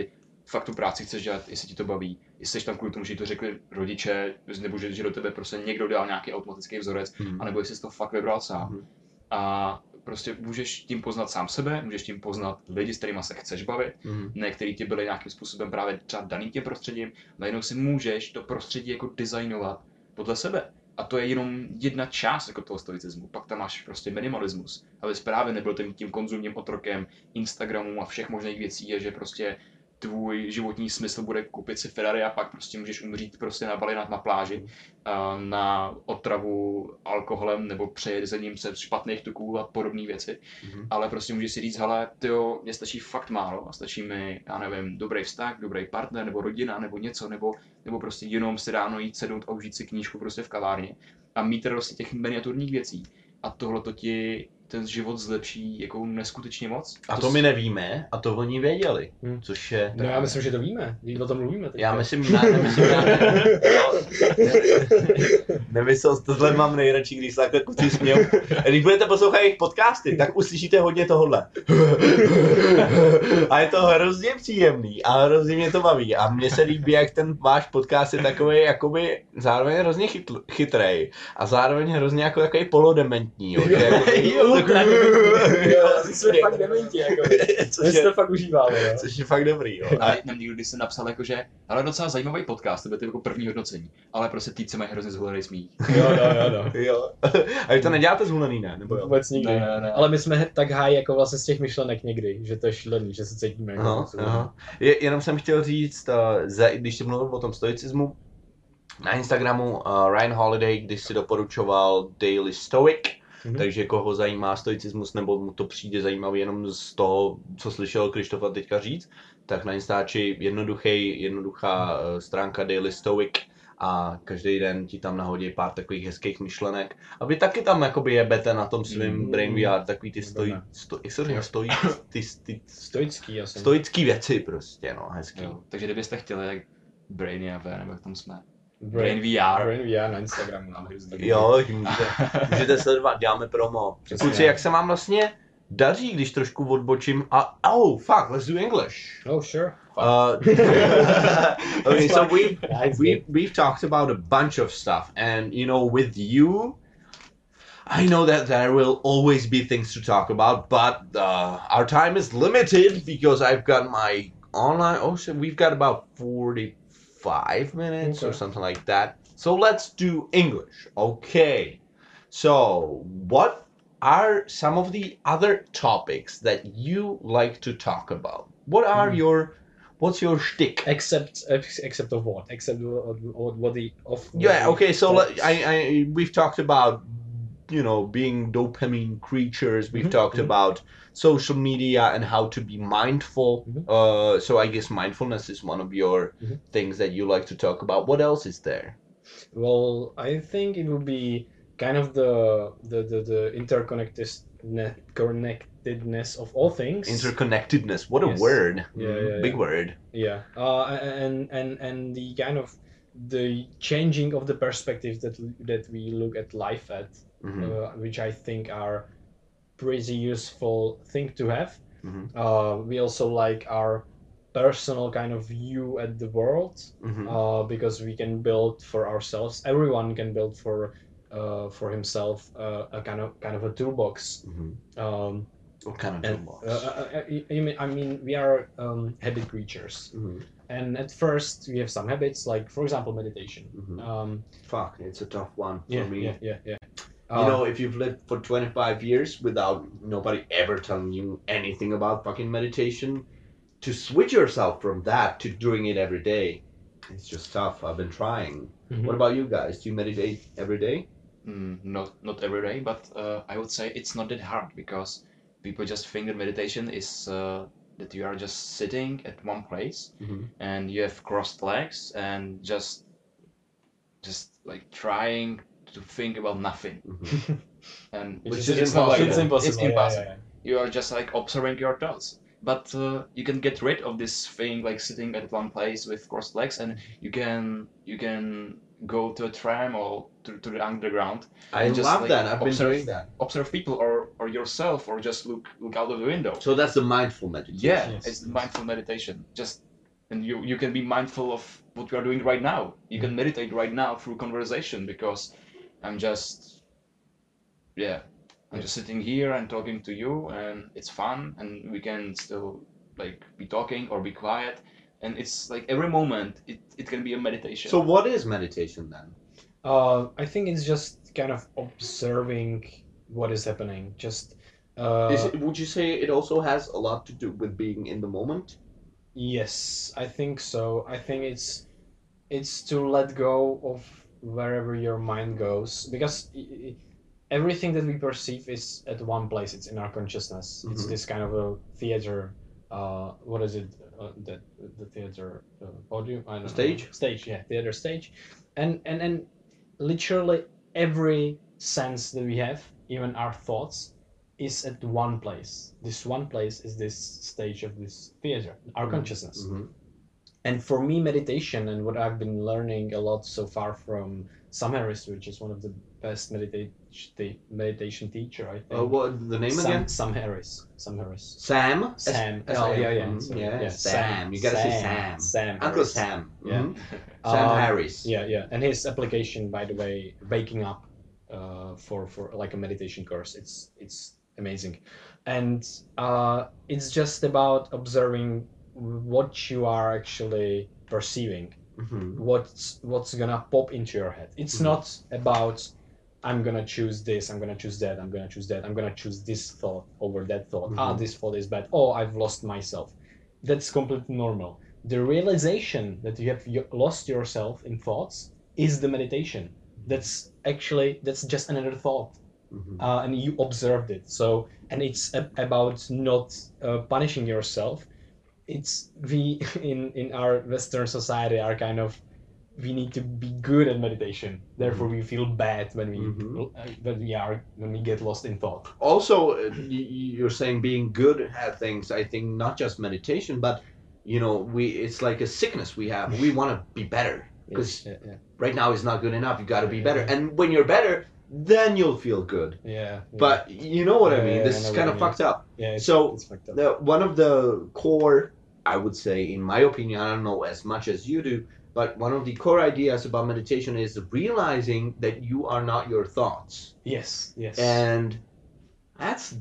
fakt tu práci chceš dělat, jestli ti to baví, jestli jsi tam kvůli tomu, že ti to řekli rodiče, nebo že, že do tebe prostě někdo dal nějaký automatický vzorec, Hmm. anebo jestli jsi to fakt vybral sám. Hmm. A prostě můžeš tím poznat sám sebe, můžeš tím poznat lidi, s kterými se chceš bavit, Hmm. ne, který ti byli nějakým způsobem právě třeba daný tím prostředím, najednou si můžeš to prostředí jako designovat podle sebe. A to je jenom jedna část jako toho stoicismu. Pak tam máš prostě minimalismus, abys právě nebyl tím, tím konzumním otrokem Instagramu a všech možných věcí, a že prostě tvůj životní smysl bude koupit si Ferrari a pak prostě můžeš umřít prostě na Bali na, na pláži, a na otravu alkoholem nebo přejezením se špatných tuků a podobné věci. Mhm. Ale prostě můžeš si říct, hele, tyjo, mně stačí fakt málo a stačí mi, já nevím, dobrý vztah, dobrý partner nebo rodina nebo něco, nebo, nebo prostě jenom si ráno jít sednout a užít si knížku prostě v kavárně a mít radost těch miniaturních věcí. A tohle to ti ten život zlepší jako neskutečně moc. A to my nevíme, a to oni věděli, Hmm. což je... No já myslím, že to víme, když o tom mluvíme. Teď. Já myslím, ne, nemyslím, já ne, nemyslel, tohle mám nejradši, když se takhle kluci smějou. Když budete poslouchat jejich podcasty, tak uslyšíte hodně tohohle. A je to hrozně příjemný a hrozně mě to baví. A mně se líbí, jak ten váš podcast je takový jakoby zároveň hrozně chytl, chytrej a zároveň hrozně jako takový polodementní. Jo, že jakoby, Jo, takový, jo, jsme fakt dementi, jako. což, My si je, to fakt užíváme, jo. což je fakt dobrý. Jo. A nám někdo, když jsem napsal jako, že ale docela zajímavý podcast, to bude to jako první hodnocení, ale prostě týpci mají hrozně zhulený smích. Jo, jo, jo, jo. Jo. A vy to neděláte zhulený, ne? Nebo jo? Vůbec nikdy. Ne, ne, ne. Ale my jsme tak high jako vlastně z těch myšlenek někdy, že to je šílený, že se cítíme jako Aha, něco. aha. Je, jenom jsem chtěl říct, uh, za, když jsi mluvil o tom stoicismu, na Instagramu uh, Ryan Holiday, když si doporučoval Daily Stoic, Mhm. takže koho zajímá stoicismus, nebo mu to přijde zajímavý jenom z toho, co slyšel Krištofa teďka říct, tak na Instači jednoduchý, jednoduchá uh, stránka Daily Stoic a každý den ti tam nahodí pár takových hezkých myšlenek. A vy taky tam jakoby jebete na tom svým Mm. Brain V R, takový ty stoj, Dobré. sto, jak se říká, stojí, ty, ty Stoický, já jsem. stoický věci prostě, no, hezký. Jo. Takže kdybyste chtěli, jak Brainy a V, nebo jak tam jsme. Brain, Brain V R. Brain V R na Instagramu. No, Jo, můžete, můžete sledovat, děláme promo. Přesně. Kluci, jak se vám vlastně daří, když trošku odbočím a oh, fuck, let's do English. Oh, sure. Uh, okay, so we Nice, we we've talked about a bunch of stuff, and you know, with you, I know that there will always be things to talk about, but uh, our time is limited because I've got my online. Oh shit, we've got about forty-five minutes or Okay. something like that. So let's do English, okay? So what are some of the other topics that you like to talk about? What are Hmm. your What's your shtick? Except, ex- except of what? Except what, what, what the of. Yeah, okay, so topics. let, I, I we've talked about, you know, being dopamine creatures. We've Mhm, talked mhm. about social media and how to be mindful. Mhm. Uh, so I guess mindfulness is one of your Mhm. things that you like to talk about. What else is there? Well, I think it would be kind of the the the, the interconnectedness connectedness of all things. Interconnectedness. What a Yes. word. Yeah, Mm, yeah, Big yeah. word. Yeah, uh, and and and the kind of the changing of the perspective that that we look at life at, Mhm, uh, which I think are pretty useful thing to have. mhm, Uh, we also like our personal kind of view at the world, mhm. uh, because we can build for ourselves. Everyone can build for uh, for himself uh, a kind of kind of a toolbox. Mhm. Um, What kind of and toolbox? uh, uh, uh, I mean, I mean, we are um, habit creatures. Mhm, And at first, we have some habits, like, for example, meditation. mhm. Um, Fuck, it's a tough one for yeah, me. yeah, yeah, yeah. You Uh, know, if you've lived for twenty-five years without nobody ever telling you anything about fucking meditation, to switch yourself from that to doing it every day, it's just tough. I've been trying. mhm. What about you guys? Do you meditate every day? Mm, not not every day, but uh, I would say it's not that hard because people just think that meditation is uh, that you are just sitting at one place Mhm. and you have crossed legs and just just like trying to think about nothing. Mhm. And Which Which is, is it's not like impossible. it's impossible. It's yeah, impossible. yeah, you are just like observing your thoughts. But uh, you can get rid of this thing like sitting at one place with crossed legs, and you can you can go to a tram or to, to the underground. I And just, love like, that. I've been observe- doing that. Observe people or, or yourself, or just look look out of the window. So that's the mindful meditation. Yeah, Yes, it's yes. mindful meditation. Just and you you can be mindful of what you are doing right now. You can meditate right now through conversation because I'm just yeah I'm just sitting here and talking to you, and it's fun, and we can still like be talking or be quiet, and it's like every moment it, it can be a meditation. So what is meditation then? Uh, I think it's just kind of observing what is happening. Just uh, Is it, would you say it also has a lot to do with being in the moment? yes, I think so. I think it's it's to let go of wherever your mind goes, because i- i- everything that we perceive is at one place. It's in our consciousness. It's Mhm. this kind of a theater. Uh, what is it? Uh, the the theater uh, podium? I don't know. Stage? Stage, yeah, theater stage, and and and literally every sense that we have, even our thoughts, is at one place. This one place is this stage of this theater, our consciousness. Mhm. And for me, meditation and what I've been learning a lot so far from Sam Harris, which is one of the best meditation meditation teacher, I think. Uh, what the name Sam, again? Sam Harris. Sam Harris. Sam. Sam. S- Oh S- yeah, yeah. Mhm. So, yeah. yeah, Sam. Sam. You gotta say Sam. Sam. Sam Uncle Harris. Sam. Yeah. Mhm. Sam Um, Harris. Yeah, yeah. And his application, by the way, waking up, uh, for for like a meditation course, it's it's amazing, and uh, it's just about observing what you are actually perceiving, Mhm. what's what's gonna pop into your head. It's Mhm. not about I'm gonna choose this, I'm gonna choose that, I'm gonna choose that, I'm gonna choose this thought over that thought. Ah, Mhm. this thought is bad. Oh, I've lost myself. That's completely normal. The realization that you have y- lost yourself in thoughts is the meditation. That's actually that's just another thought, Mhm. uh, and you observed it. So, and it's a- about not uh, punishing yourself. It's we in in our Western society are kind of we need to be good at meditation. Therefore, we feel bad when we Mhm. uh, when we are when we get lost in thought. Also, uh, y- y- you're saying being good at things. I think not just meditation, but you know, we it's like a sickness we have. We want to be better because Yeah, yeah, right now is not good enough. You got to be Yeah, better, yeah. and when you're better, then you'll feel good. yeah. yeah. But you know what I Yeah, mean. yeah, This I is know kind what of you mean. fucked up. yeah, it's, so, it's fucked up. The, one of the core, I would say, in my opinion, I don't know as much as you do, but one of the core ideas about meditation is realizing that you are not your thoughts. Yes, yes. And that's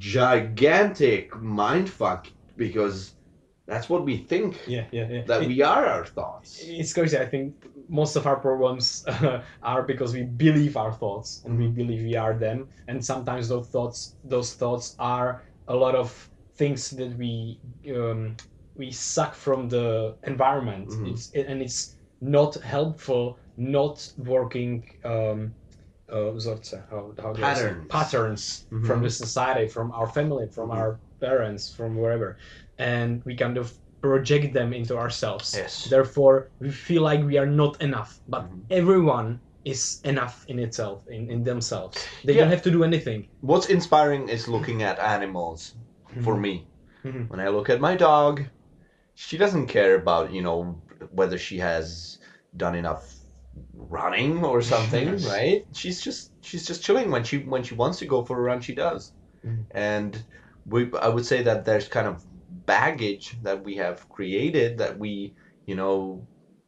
gigantic mindfuck because that's what we think, yeah, yeah, yeah. that It- we are our thoughts. It's crazy. I think most of our problems uh, are because we believe our thoughts and we believe we are them. And sometimes those thoughts, those thoughts are a lot of things that we um, we suck from the environment. Mhm. It's and it's not helpful, not working. Um, uh, vzorce, how, how do I say? Patterns. patterns Mhm. from the society, from our family, from Mhm. our parents, from wherever, and we kind of project them into ourselves. Yes. Therefore, we feel like we are not enough, but Mhm. everyone is enough in itself, in, in themselves. They Yeah. don't have to do anything. What's inspiring is looking at animals for me. Mhm. When I look at my dog, she doesn't care about, you know, whether she has done enough running or something, right? She's just she's just chilling. When she when she wants to go for a run, she does. Mhm. And we I would say that there's kind of baggage that we have created that we, you know,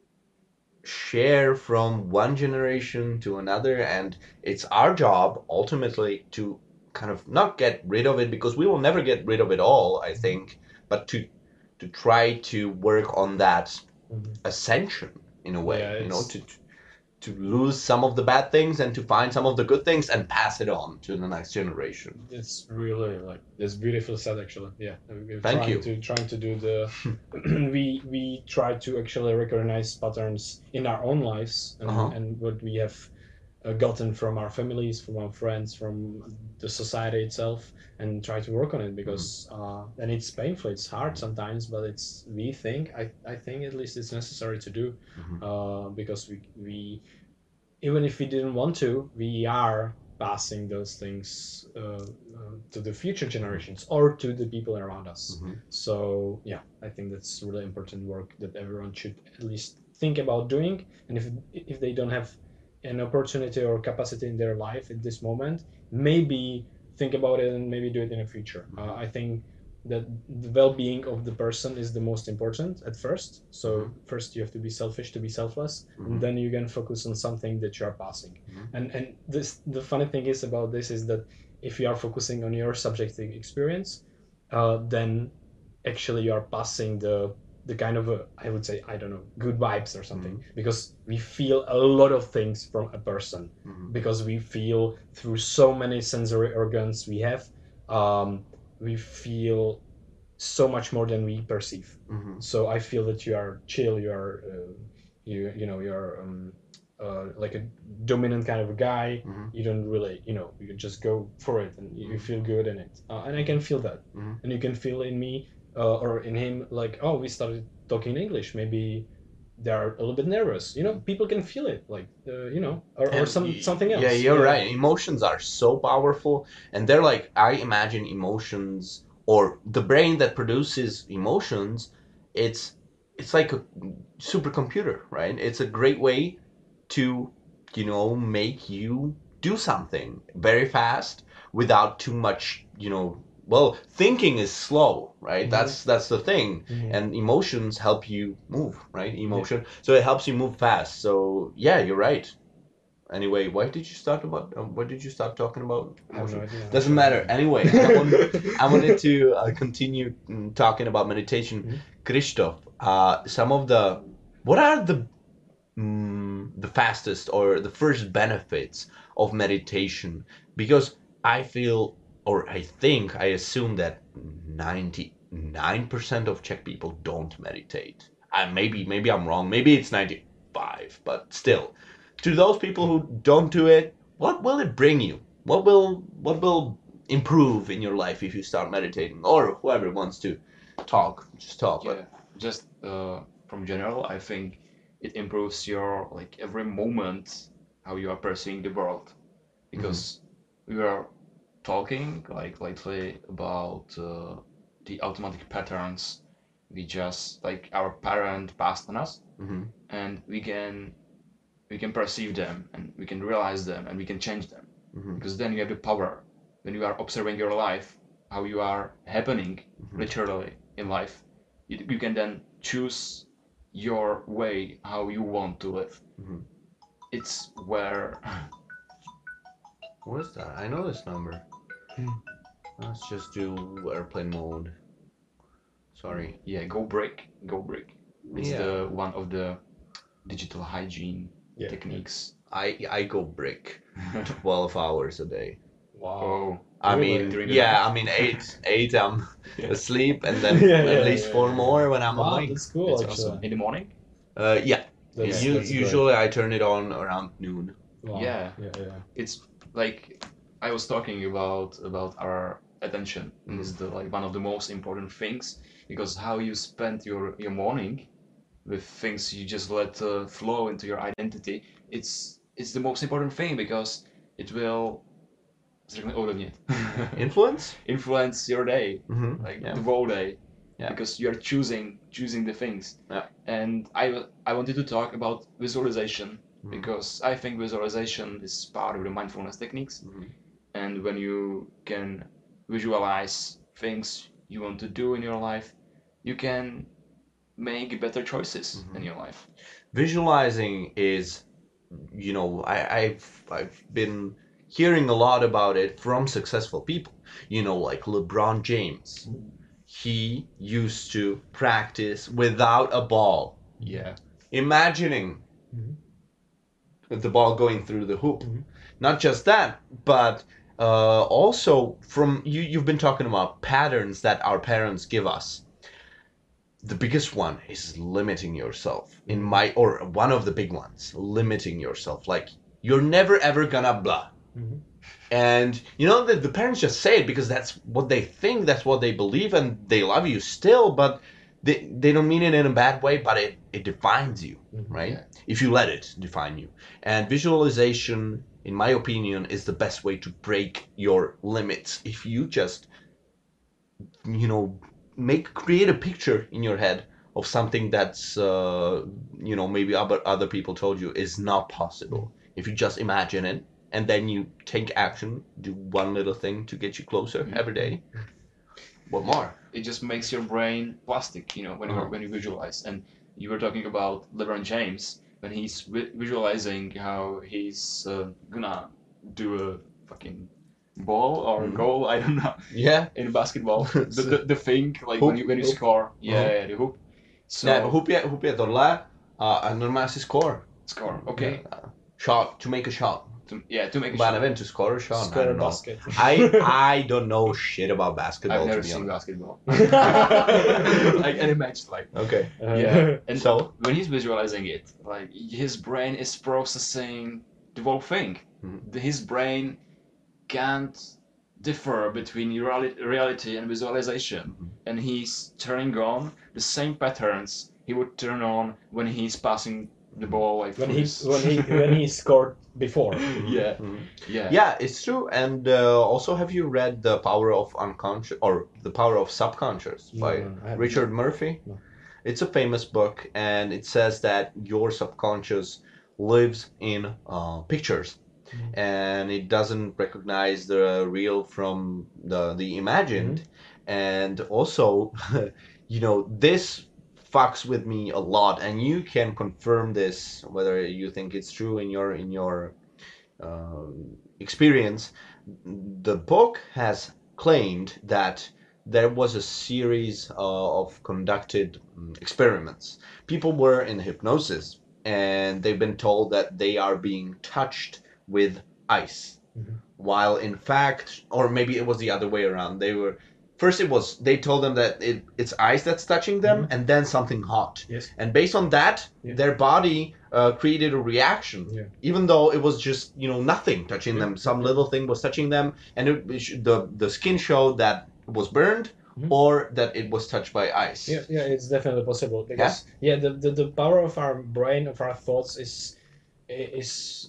share from one generation to another, and it's our job ultimately to kind of not get rid of it, because we will never get rid of it all, I think, but to to try to work on that Mhm. ascension in a way, Yeah, you know, it's- to to lose some of the bad things and to find some of the good things and pass it on to the next generation. It's really like it's beautiful said actually. Yeah, we're Thank trying you. to trying to do the we we try to actually recognize patterns in our own lives and, Uh-huh. and what we have uh, gotten from our families, from our friends, from the society itself, and try to work on it because uh, and it's painful, it's hard sometimes, but it's we think I I think at least it's necessary to do Mhm. uh, because we we even if we didn't want to, we are passing those things uh, uh, to the future generations or to the people around us. Mhm. So yeah, I think that's really important work that everyone should at least think about doing. And if if they don't have an opportunity or capacity in their life at this moment, maybe think about it and maybe do it in the future. Uh, I think that the well-being of the person is the most important at first. So Mhm. first you have to be selfish to be selfless, Mhm. and then you can focus on something that you are passing. Mhm. And and this the funny thing is about this is that if you are focusing on your subjective experience, uh, then actually you are passing the the kind of a, I would say, I don't know, good vibes or something, because we feel a lot of things from a person, Mhm. because we feel through so many sensory organs we have, um, we feel so much more than we perceive. Mhm. So I feel that you are chill, you are uh, you you know you're um, uh, like a dominant kind of a guy. Mhm. You don't really, you know, you can just go for it and you feel good in it, uh, and I can feel that. Mhm. And you can feel in me uh, or in him, like, oh, we started talking English, maybe they're a little bit nervous, you know, people can feel it, like uh, you know, or, or And some y- something else. Yeah, you're right. Emotions are so powerful, and they're like, I imagine emotions, or the brain that produces emotions. It's it's like a supercomputer, right? It's a great way to, you know, make you do something very fast without too much, you know. Well, thinking is slow, right? Mhm. That's that's the thing, Mhm. and emotions help you move, right? Emotion, so it helps you move fast. So yeah, you're right. Anyway, why did you start about? Um, what did you start talking about? I have no Emotion? idea. Doesn't matter. Anyway, I wanted, I wanted to uh, continue mm, talking about meditation. Mhm. Christoph, uh, some of the, what are the, mm, the fastest or the first benefits of meditation? Because I feel, or I think, I assume that ninety-nine percent of Czech people don't meditate. Uh, maybe, maybe I'm wrong. Maybe it's ninety-five, but still, to those people who don't do it, what will it bring you? What will what will improve in your life if you start meditating? Or whoever wants to talk, just talk. Yeah, just uh, from general, I think it improves your like every moment how you are perceiving the world, because we were talking like lately about uh, the automatic patterns we just like our parent passed on us, But hmm and we can we can perceive them and we can realize them and we can change them, hmm because then you have the power when you are observing your life, how you are happening Mhm. literally in life. You, you can then choose your way how you want to live. Mhm. It's where What is that? I know this number. Hmm. Let's just do airplane mode. Sorry. yeah, go break, go break. It's Yeah. the one of the digital hygiene Yeah. techniques. I I go brick twelve hours a day. Wow. Oh, I Really? mean, During the yeah, night? I mean eight eight I'm Yeah. asleep, and then Yeah, at yeah, least yeah, four yeah. more when I'm Wow, awake. that's cool. It's actually. awesome. In the morning? Uh, yeah. That's, U- that's great. usually I turn it on around noon. Wow. Yeah. Yeah, yeah. It's like I was talking about about our attention Mm. is the like one of the most important things, because how you spend your your morning with things you just let uh, flow into your identity, it's it's the most important thing, because it will řekne ovlivnit. Influence? influence your day, Mm-hmm. like Yeah. the whole day, Yeah. because you are choosing choosing the things. Yeah. And I I wanted to talk about visualization, Mhm. because I think visualization is part of the mindfulness techniques. Mhm. And when you can visualize things you want to do in your life, you can make better choices Mhm. in your life. Visualizing is, you know, I, I've I've been hearing a lot about it from successful people. You know, like LeBron James. He used to practice without a ball, Yeah. imagining Mhm. the ball going through the hoop. Mhm. Not just that, but uh, also from you. You've been talking about patterns that our parents give us. The biggest one is limiting yourself. In Mhm. my, or one of the big ones, limiting yourself. Like you're never ever gonna blah. Mhm. And you know that the parents just say it because that's what they think, that's what they believe, and they love you still, but they, they don't mean it in a bad way, but it, it defines you, Mhm. right? Yeah. If you let it define you. And visualization, in my opinion, is the best way to break your limits. If you just, you know, make create a picture in your head of something that's, uh, you know, maybe other other people told you is not possible. If you just imagine it, and then you take action, do one little thing to get you closer Mhm. every day. What more? It just makes your brain plastic, you know, when you Uh-huh. when you visualize. And you were talking about LeBron James when he's vi- visualizing how he's uh, gonna do a fucking ball or Mhm. goal, I don't know, Yeah. in basketball. the, the the thing like Hoop. when you when you Hoop. score, yeah, Uh-huh. yeah, the hoop. So Ne, hoop je, hoop je tohle a normálně si score. score, okay. Shot, to make a shot. To, yeah, to make a But I shot. nevím, to score a shot, I Score don't a know. basket. I I don't know shit about basketball, I've to never be seen honest. basketball. Like any match, like Okay. yeah. And So? when he's visualizing it, like his brain is processing the whole thing. Mhm. The- His brain can't differ between reali- reality and visualization, Mhm. and he's turning on the same patterns he would turn on when he's passing the ball like when through he his- when he when he scored before. yeah, Mhm. yeah, Yeah, it's true. And uh, also, have you read The Power of Unconscious or The Power of Subconscious No, by no, I haven't. Richard Murphy? No. It's a famous book, and it says that your subconscious lives in uh, pictures, Mhm. and it doesn't recognize the real from the the imagined. And also, you know, this fucks with me a lot, and you can confirm this whether you think it's true in your in your um, experience. The book has claimed that there was a series uh, of conducted um, experiments. People were in hypnosis, and they've been told that they are being touched with ice, Mhm. while in fact, or maybe it was the other way around. They were first it was they told them that it, it's ice that's touching them, Mhm. and then something hot. Yes. And based on that, Yeah. their body uh, created a reaction, Yeah. even though it was just you know nothing touching Yeah. them. Some little thing was touching them, and it, it sh- the the skin showed that it was burned Mhm. or that it was touched by ice. Yeah, yeah, it's definitely possible because yeah, the, the, the power of our brain, of our thoughts is is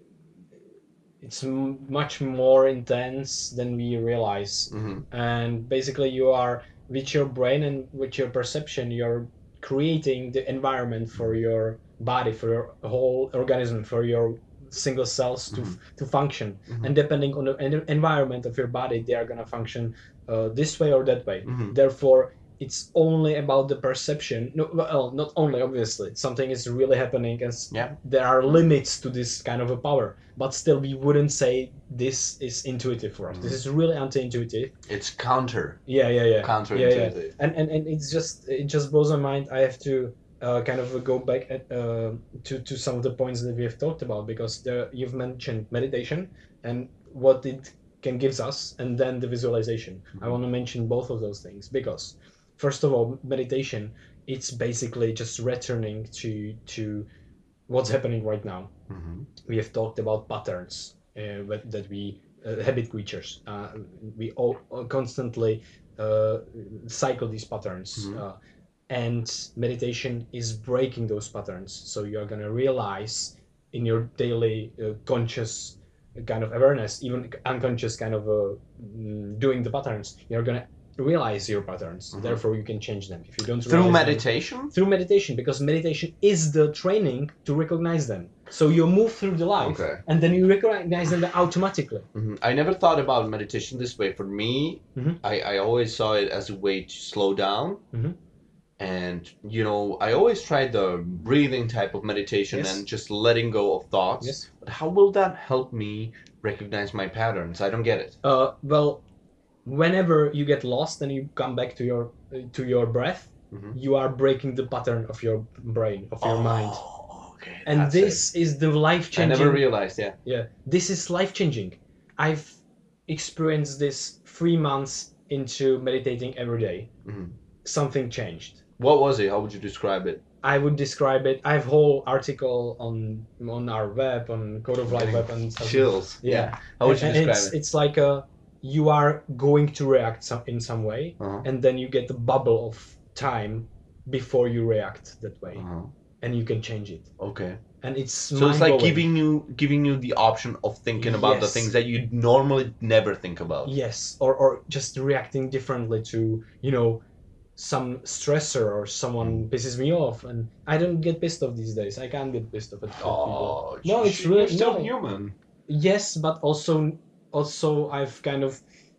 it's m- much more intense than we realize. hmm And basically, you are with your brain and with your perception, you're creating the environment for your body, for your whole organism, for your single cells to Mhm. to function. Mhm. And depending on the en- environment of your body, they are gonna function uh, this way or that way. Mhm. Therefore, it's only about the perception. No, well, not only obviously. Something is really happening, and s- Yeah. there are limits to this kind of a power. But still, we wouldn't say this is intuitive for us. This is really anti-intuitive. It's counter Yeah, yeah, yeah. Yeah, yeah. counterintuitive. And, and and it's just it just blows my mind. I have to uh, kind of go back at, uh, to to some of the points that we have talked about because there, you've mentioned meditation and what it can gives us, and then the visualization. I want to mention both of those things because, first of all, meditation it's basically just returning to to what's happening right now. hmm We have talked about patterns uh, what- that we uh, habit creatures. Uh, we all all constantly uh, cycle these patterns, Mhm. uh, and meditation is breaking those patterns. So you're gonna realize in your daily uh, conscious kind of awareness, even unconscious kind of uh, mm, doing the patterns, you're gonna realize your patterns. Mhm. Therefore, you can change them. If you don't Through realize them- meditation. through meditation, because meditation is the training to recognize them. So you move through the life, Okay. and then you recognize them automatically. Mhm. I never thought about meditation this way. For me, Mhm. I, I always saw it as a way to slow down. Mhm. And, you know, I always tried the breathing type of meditation Yes. and just letting go of thoughts. Yes. But how will that help me recognize my patterns? I don't get it. Uh, well, whenever you get lost and you come back to your to your breath, Mhm. you are breaking the pattern of your brain, of your mind. Oh, okay. And that's this it. is the life I changing. never realized, yeah. Yeah, this is life changing. I've experienced this three months into meditating every day. Mhm. Something changed. What was it? How would you describe it? I would describe it. I have whole article on on our web, on Code of Life Getting web, and stuff. Chills. Yeah. How would you and describe it's, it? It's like a you are going to react some, in some way, Uh-huh. and then you get the bubble of time before you react that way, Uh-huh. and you can change it. Okay. And it's So it's like mind-blowing. giving you giving you the option of thinking about the Yes. things that you normally never think about. Yes, or or just reacting differently to you know some stressor or someone Mm. pisses me off, and I don't get pissed off these days. I can't get pissed off at people. Oh, No, you- it's really- you're still no. human. Yes, but also also I've kind of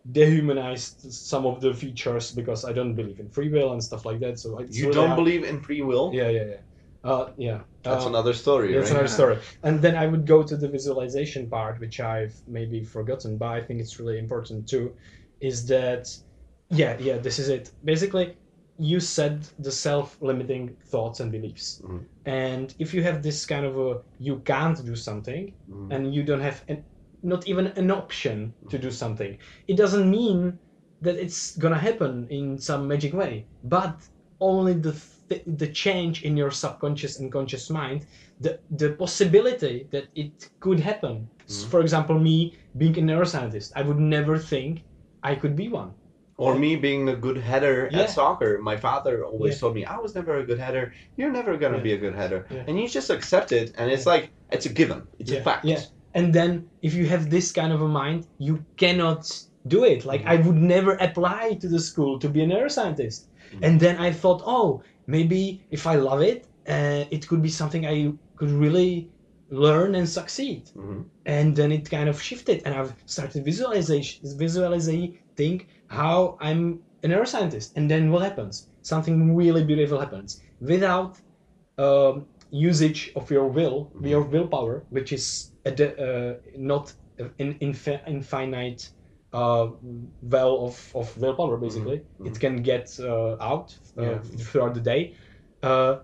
dehumanized some of the features because I don't believe in free will and stuff like that. So it's You really don't hard- believe in free will? Yeah, yeah, yeah. Uh, yeah. That's Um, another story, That's right? another story. And then I would go to the visualization part, which I've maybe forgotten, but I think it's really important too, is that, yeah, yeah, this is it. Basically, you said the self-limiting thoughts and beliefs. Mhm. And if you have this kind of a, you can't do something, Mhm. and you don't have an, not even an option to do something, it doesn't mean that it's gonna happen in some magic way, but only the th- the change in your subconscious and conscious mind, the the possibility that it could happen. S- Mhm. For example, me being a neuroscientist, I would never think I could be one. Or me being a good header Yeah. at soccer. My father always Yeah. told me, I was never a good header. You're never going to Yeah. be a good header. Yeah. And you just accept it. And it's Yeah. like, it's a given. It's Yeah, a fact. yeah. And then if you have this kind of a mind, you cannot do it. Like Mhm. I would never apply to the school to be a neuroscientist. Mhm. And then I thought, oh, maybe if I love it, uh, it could be something I could really learn and succeed. Mhm. And then it kind of shifted, and I've started visualization, visualizing how I'm a neuroscientist. And then what happens? Something really beautiful happens without um, usage of your will, Mhm. your willpower, which is a de- uh, not an infi- infinite uh, well of, of willpower, basically. Mhm. It can get uh, out uh, Yeah. throughout the day. Uh,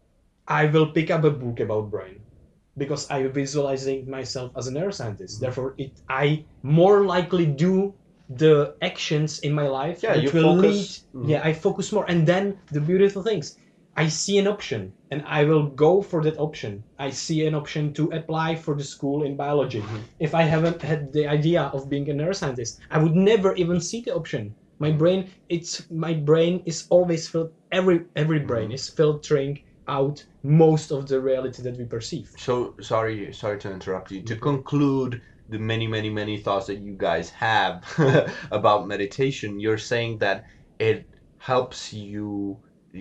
I will pick up a book about brain because I'm visualizing myself as a neuroscientist. Mhm. Therefore, it I more likely do the actions in my life Yeah, which you will focus- lead. Mhm. Yeah, I focus more, and then the beautiful things. I see an option, and I will go for that option. I see an option to apply for the school in biology. Mhm. If I haven't had the idea of being a neuroscientist, I would never even see the option. My brain, it's my brain is always filled. Every every brain Mhm. is filtering out most of the reality that we perceive. So, sorry, sorry to interrupt you. To conclude the many, many, many thoughts that you guys have about meditation, you're saying that it helps you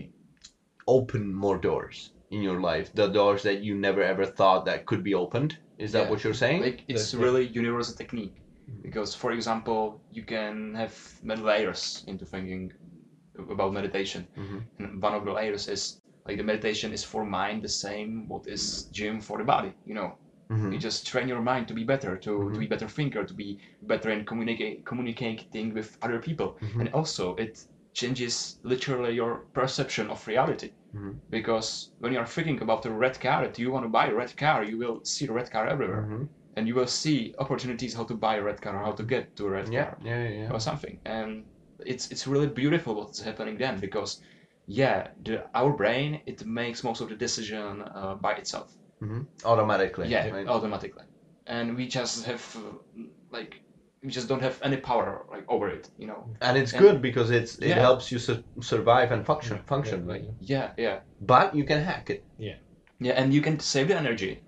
open more doors in your life, the doors that you never ever thought that could be opened. Is that Yeah. what you're saying? Like it's Yeah. really universal technique because, for example, you can have many layers into thinking about meditation, Mhm. and one of the layers is like the meditation is for mind the same what is gym for the body. You know, Mhm. you just train your mind to be better, to, Mhm. to be better thinker, to be better in communicate communicating with other people, Mhm. and also it changes literally your perception of reality. Mhm. Because when you are thinking about a red car that you want to buy a red car, you will see a red car everywhere, Mhm. and you will see opportunities how to buy a red car or how to get to a red Yeah, car yeah, yeah. or something. And it's it's really beautiful what's happening then because yeah, the our brain it makes most of the decision uh, by itself. Mhm. Automatically. Yeah, right? automatically, and we just have uh, like we just don't have any power like over it, you know. And it's And- good because it's it Yeah. helps you su- survive and function, function, Yeah, right? yeah. Yeah, yeah, But you can hack it. yeah, and you can save the energy,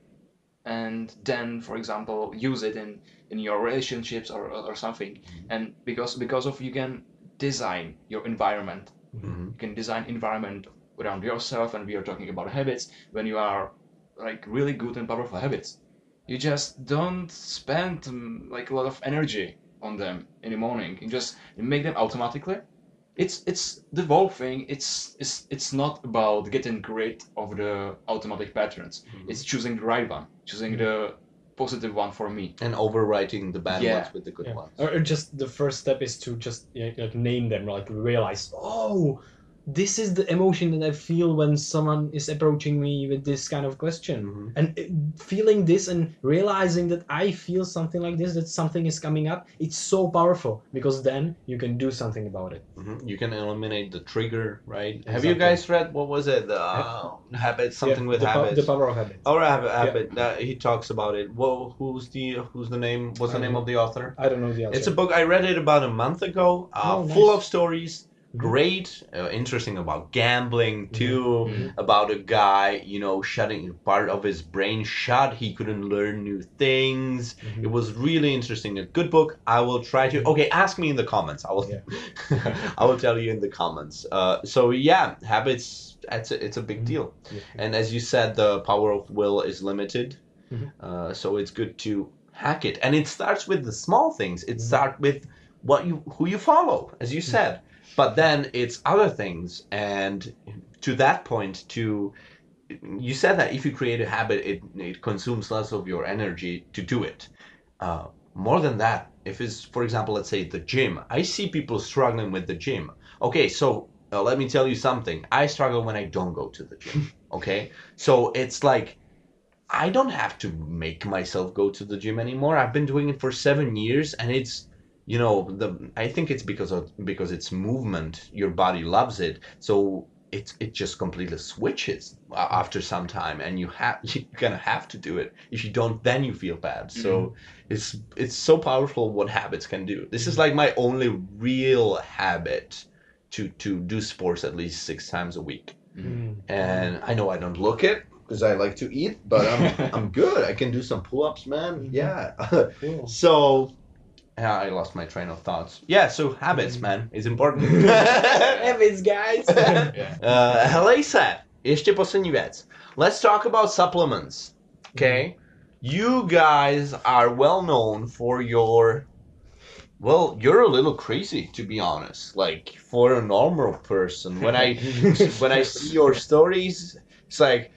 and then, for example, use it in in your relationships or or something. And because because of you can design your environment. Mhm. You can design environment around yourself, and we are talking about habits. When you are like really good and powerful habits, you just don't spend um, like a lot of energy on them in the morning. You just make them automatically. It's it's the whole thing. It's it's it's not about getting rid of the automatic patterns. Mhm. It's choosing the right one, choosing the positive one for me. And overwriting the bad Yeah. ones with the good Yeah. ones. Or, or just the first step is to just yeah, like name them, like realize, oh, this is the emotion that I feel when someone is approaching me with this kind of question. Mhm. And uh, feeling this and realizing that I feel something like this, that something is coming up, it's so powerful because then you can do something about it. Mhm. You can eliminate the trigger, right? Have Exactly. you guys read, what was it? The uh, habits, something Yeah, with the, po- habits. the power of habit. Or habit, habit. Uh, he talks about it. Well, who's the who's the name? What's the I name don't of the author? I don't know the answer. It's a book. I read it about a month ago. Uh, Oh, full nice. of stories. Mhm. Great, uh, interesting about gambling too. Mhm. About a guy, you know, shutting part of his brain shut. He couldn't learn new things. Mhm. It was really interesting. A good book. I will try to. Okay, ask me in the comments. I will. I will tell you in the comments. Uh, so yeah, habits. It's a, it's a big Mhm. deal. Yeah. And as you said, the power of will is limited. Mhm. Uh, so it's good to hack it. And it starts with the small things. It Mhm. starts with what you who you follow, as you said. But then it's other things, and to that point, to you said that if you create a habit, it it consumes less of your energy to do it. Uh, more than that, if it's, for example, let's say the gym, I see people struggling with the gym. Okay, so uh, let me tell you something. I struggle when I don't go to the gym. Okay, so it's like I don't have to make myself go to the gym anymore. I've been doing it for seven years, and it's, you know, the I think it's because of because it's movement. Your body loves it, so it it just completely switches after some time, and you have you're gonna have to do it. If you don't, then you feel bad. So mm-hmm. it's it's so powerful what habits can do. This is like my only real habit to to do sports at least six times a week. Mm-hmm. And I know I don't look it, because I like to eat, but I'm I'm good. I can do some pull-ups, man. Yeah. Cool. So, yeah, I lost my train of thoughts. Yeah, so habits, man, is important. Habits, guys. uh, Helejse, ještě poslední věc. Let's talk about supplements. Okay, you guys are well known for your. Well, you're a little crazy, to be honest. Like, for a normal person, when I when I see your stories, it's like.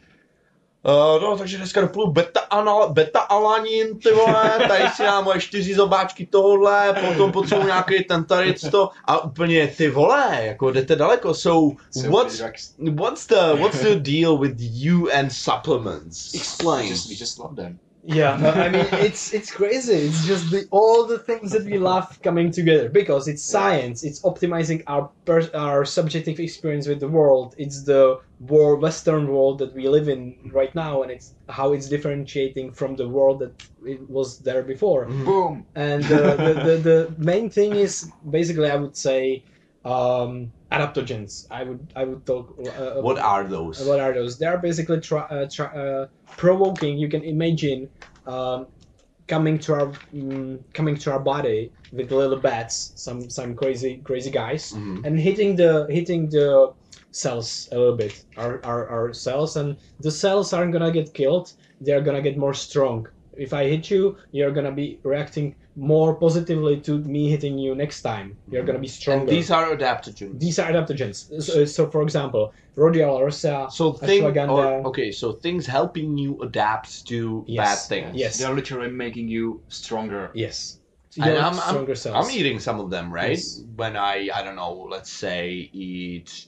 Uh, no, takže dneska doplu beta-alanin, beta ty vole, tady si dám moje čtyři zobáčky tohle, potom potřebuji nějaký ten tady to a úplně ty vole, jako jdete daleko, so, so what's, what's the what's the deal with you and supplements? Explain. We just, we just love them. Yeah, I mean, it's it's crazy. It's just the all the things that we love coming together because it's science. It's optimizing our per, our subjective experience with the world. It's the world, Western world that we live in right now, and it's how it's differentiating from the world that it was there before. Mm-hmm. Boom. And uh, the, the the main thing is basically, I would say, um, adaptogens. I would I would talk. Uh, what are those? What are those? They are basically try, uh, try, uh, provoking. You can imagine um, coming to our um, coming to our body with little bats, some some crazy crazy guys, mm-hmm. and hitting the hitting the cells a little bit. Our, our our cells, and the cells aren't gonna get killed. They are gonna get more strong. If I hit you, you're gonna be reacting more positively to me hitting you next time. You're gonna be stronger. And these are adaptogens. These are adaptogens. So, so for example, rhodiola rosea, so thing, or, okay, so things helping you adapt to yes. bad things. Yes, they're literally making you stronger. Yes. So and I'm, I'm, I'm eating some of them, right? Yes. When I, I don't know, let's say eat.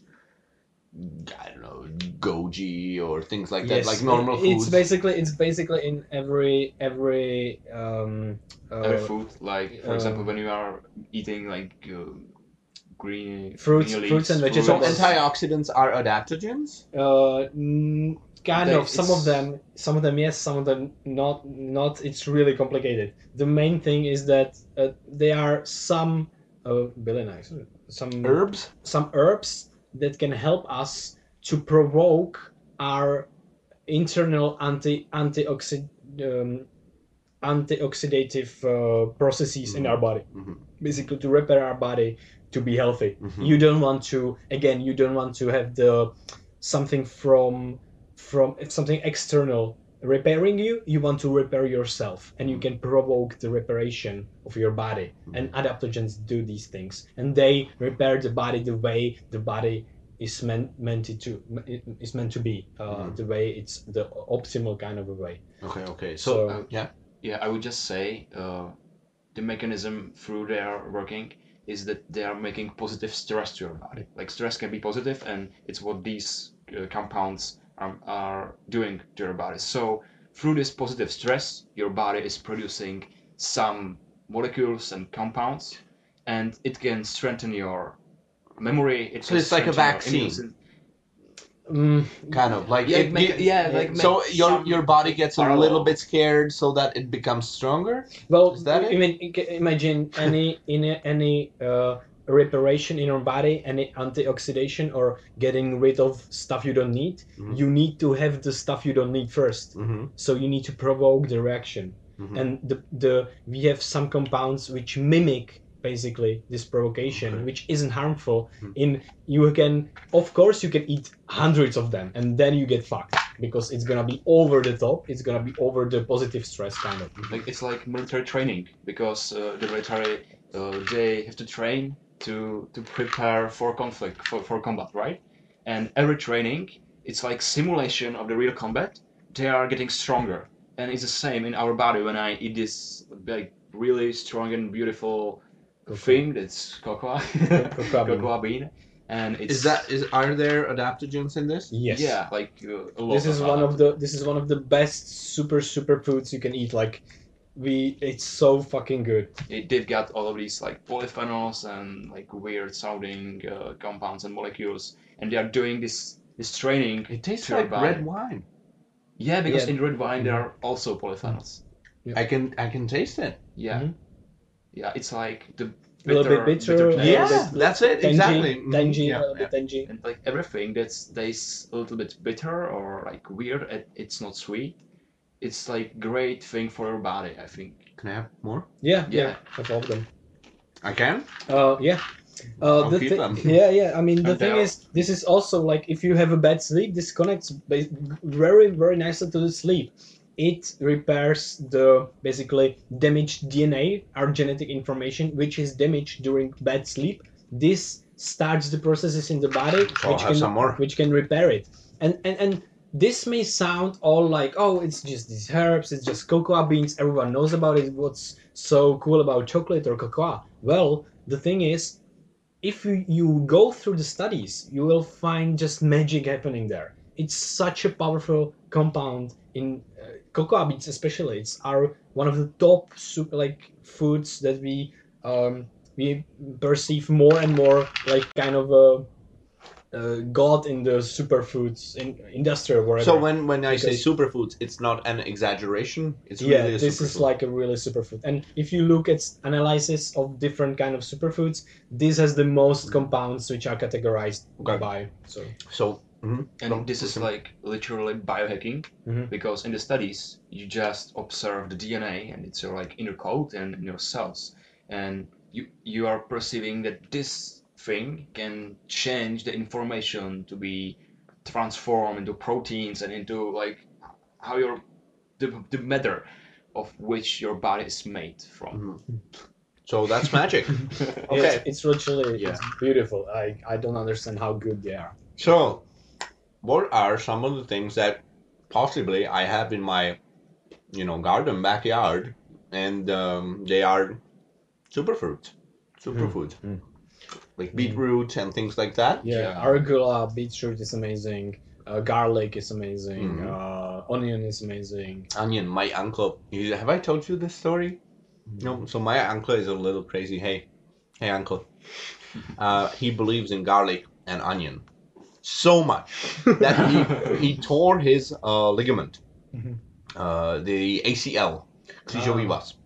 I don't know, goji or things like that, yes, like normal food. It's basically it's basically in every every um uh, every food. Like for uh, example, when you are eating like uh, green fruits, green fruits and vegetables. So antioxidants are adaptogens. Uh, mm, kind they, of. Some of them, some of them yes, some of them not. Not. It's really complicated. The main thing is that uh, there are some uh, really nice some herbs. Some herbs. That can help us to provoke our internal anti antioxid um, antioxidative uh, processes mm-hmm. in our body, mm-hmm. basically to repair our body to be healthy. Mm-hmm. You don't want to again. You don't want to have the something from from something external repairing you. You want to repair yourself, and you can provoke the reparation of your body. Mm-hmm. And adaptogens do these things, and they repair the body the way the body is meant meant to is meant to be. Uh, mm-hmm. The way it's the optimal kind of a way. Okay. Okay. So, so uh, yeah, yeah. I would just say uh, the mechanism through their working is that they are making positive stress to your body. Like stress can be positive, and it's what these uh, compounds are, are doing to your body. So through this positive stress, your body is producing some molecules and compounds, and it can strengthen your memory. It so it's like a vaccine. Mm, kind of like yeah, it, make, it, yeah, like so your your body gets parallel. a little bit scared so that it becomes stronger. Well, is that I mean, imagine any in any uh, reparation in your body, any antioxidation or getting rid of stuff you don't need. Mm-hmm. You need to have the stuff you don't need first. Mm-hmm. So you need to provoke the reaction, mm-hmm. and the the we have some compounds which mimic. Basically this provocation, okay. which isn't harmful. Mm-hmm. In you can, of course, you can eat hundreds of them, and then you get fucked. because it's gonna be over the top. It's gonna be over the positive stress kind of. Like it's like military training because uh, the military uh, they have to train to to prepare for conflict for, for combat, right? And every training it's like simulation of the real combat. They are getting stronger, and it's the same in our body when I eat this like really strong and beautiful Cocoa. thing that's cocoa, Cocoa bean. cocoa bean, and it's Is that is are there adaptogens in this? Yes. yeah like uh, a lot This is of one other- of the this is one of the best super super foods you can eat. Like, we it's so fucking good. it, they've got all of these like polyphenols and like weird sounding uh, compounds and molecules, and they are doing this this training. It tastes to your like body. red wine. Yeah, because Yeah. in red wine there are also polyphenols. I can I can taste it. Yeah, Mhm. yeah, it's like the A little bit bitter, taste. a little Yeah, bit that's it, tangy, exactly. Mhm, tangy, yeah, a little bit tangy. And like everything that's tastes a little bit bitter or like weird, it, it's not sweet. It's like great thing for your body, I think. Can I have more? Yeah, Yeah. yeah, of all of them. I can. Uh, yeah. Uh, I'll the keep thi- them. yeah, yeah. I mean, the And thing they are- is, this is also like if you have a bad sleep, this connects ba- very, very nicely to the sleep. It repairs the basically damaged D N A, our genetic information, which is damaged during bad sleep. This starts the processes in the body, I'll which have can some more. which can repair it. And and and this may sound all like, oh, it's just these herbs, it's just cocoa beans, everyone knows about it. What's so cool about chocolate or cocoa? Well, the thing is, if you, you go through the studies, you will find just magic happening there. It's such a powerful compound in uh, cocoa beans, especially. It's our one of the top super like foods that we um, we perceive more and more like kind of a, a god in the superfoods in industry or wherever. So when when I say Because- superfoods, it's not an exaggeration. It's yeah, really a this is superfood. like a really superfood. And if you look at analysis of different kind of superfoods, this has the most compounds which are categorized Okay. by. So So. mhm. And Don't- this is like literally biohacking Mhm. because in the studies you just observe the D N A and it's your like inner code and in your cells, and you you are perceiving that this thing can change the information to be transformed into proteins and into like how your the, the matter of which your body is made from. Mhm. So that's magic. it's, Okay. it's literally Yeah. it's beautiful. I, I don't understand how good they are. So, what are some of the things that possibly I have in my, you know, garden backyard, and um, they are superfruits, superfoods, Mm. like beetroot and things like that. Yeah, Yeah. arugula, beetroot is amazing. Uh, garlic is amazing. Mhm. Uh, onion is amazing. Onion. My uncle. he- Have I told you this story? No. So my uncle is a little crazy. Hey, hey, uncle. Uh, he believes in garlic and onion so much that he he tore his uh, ligament, Mhm. uh, the A C L, křížový Ah. vaz.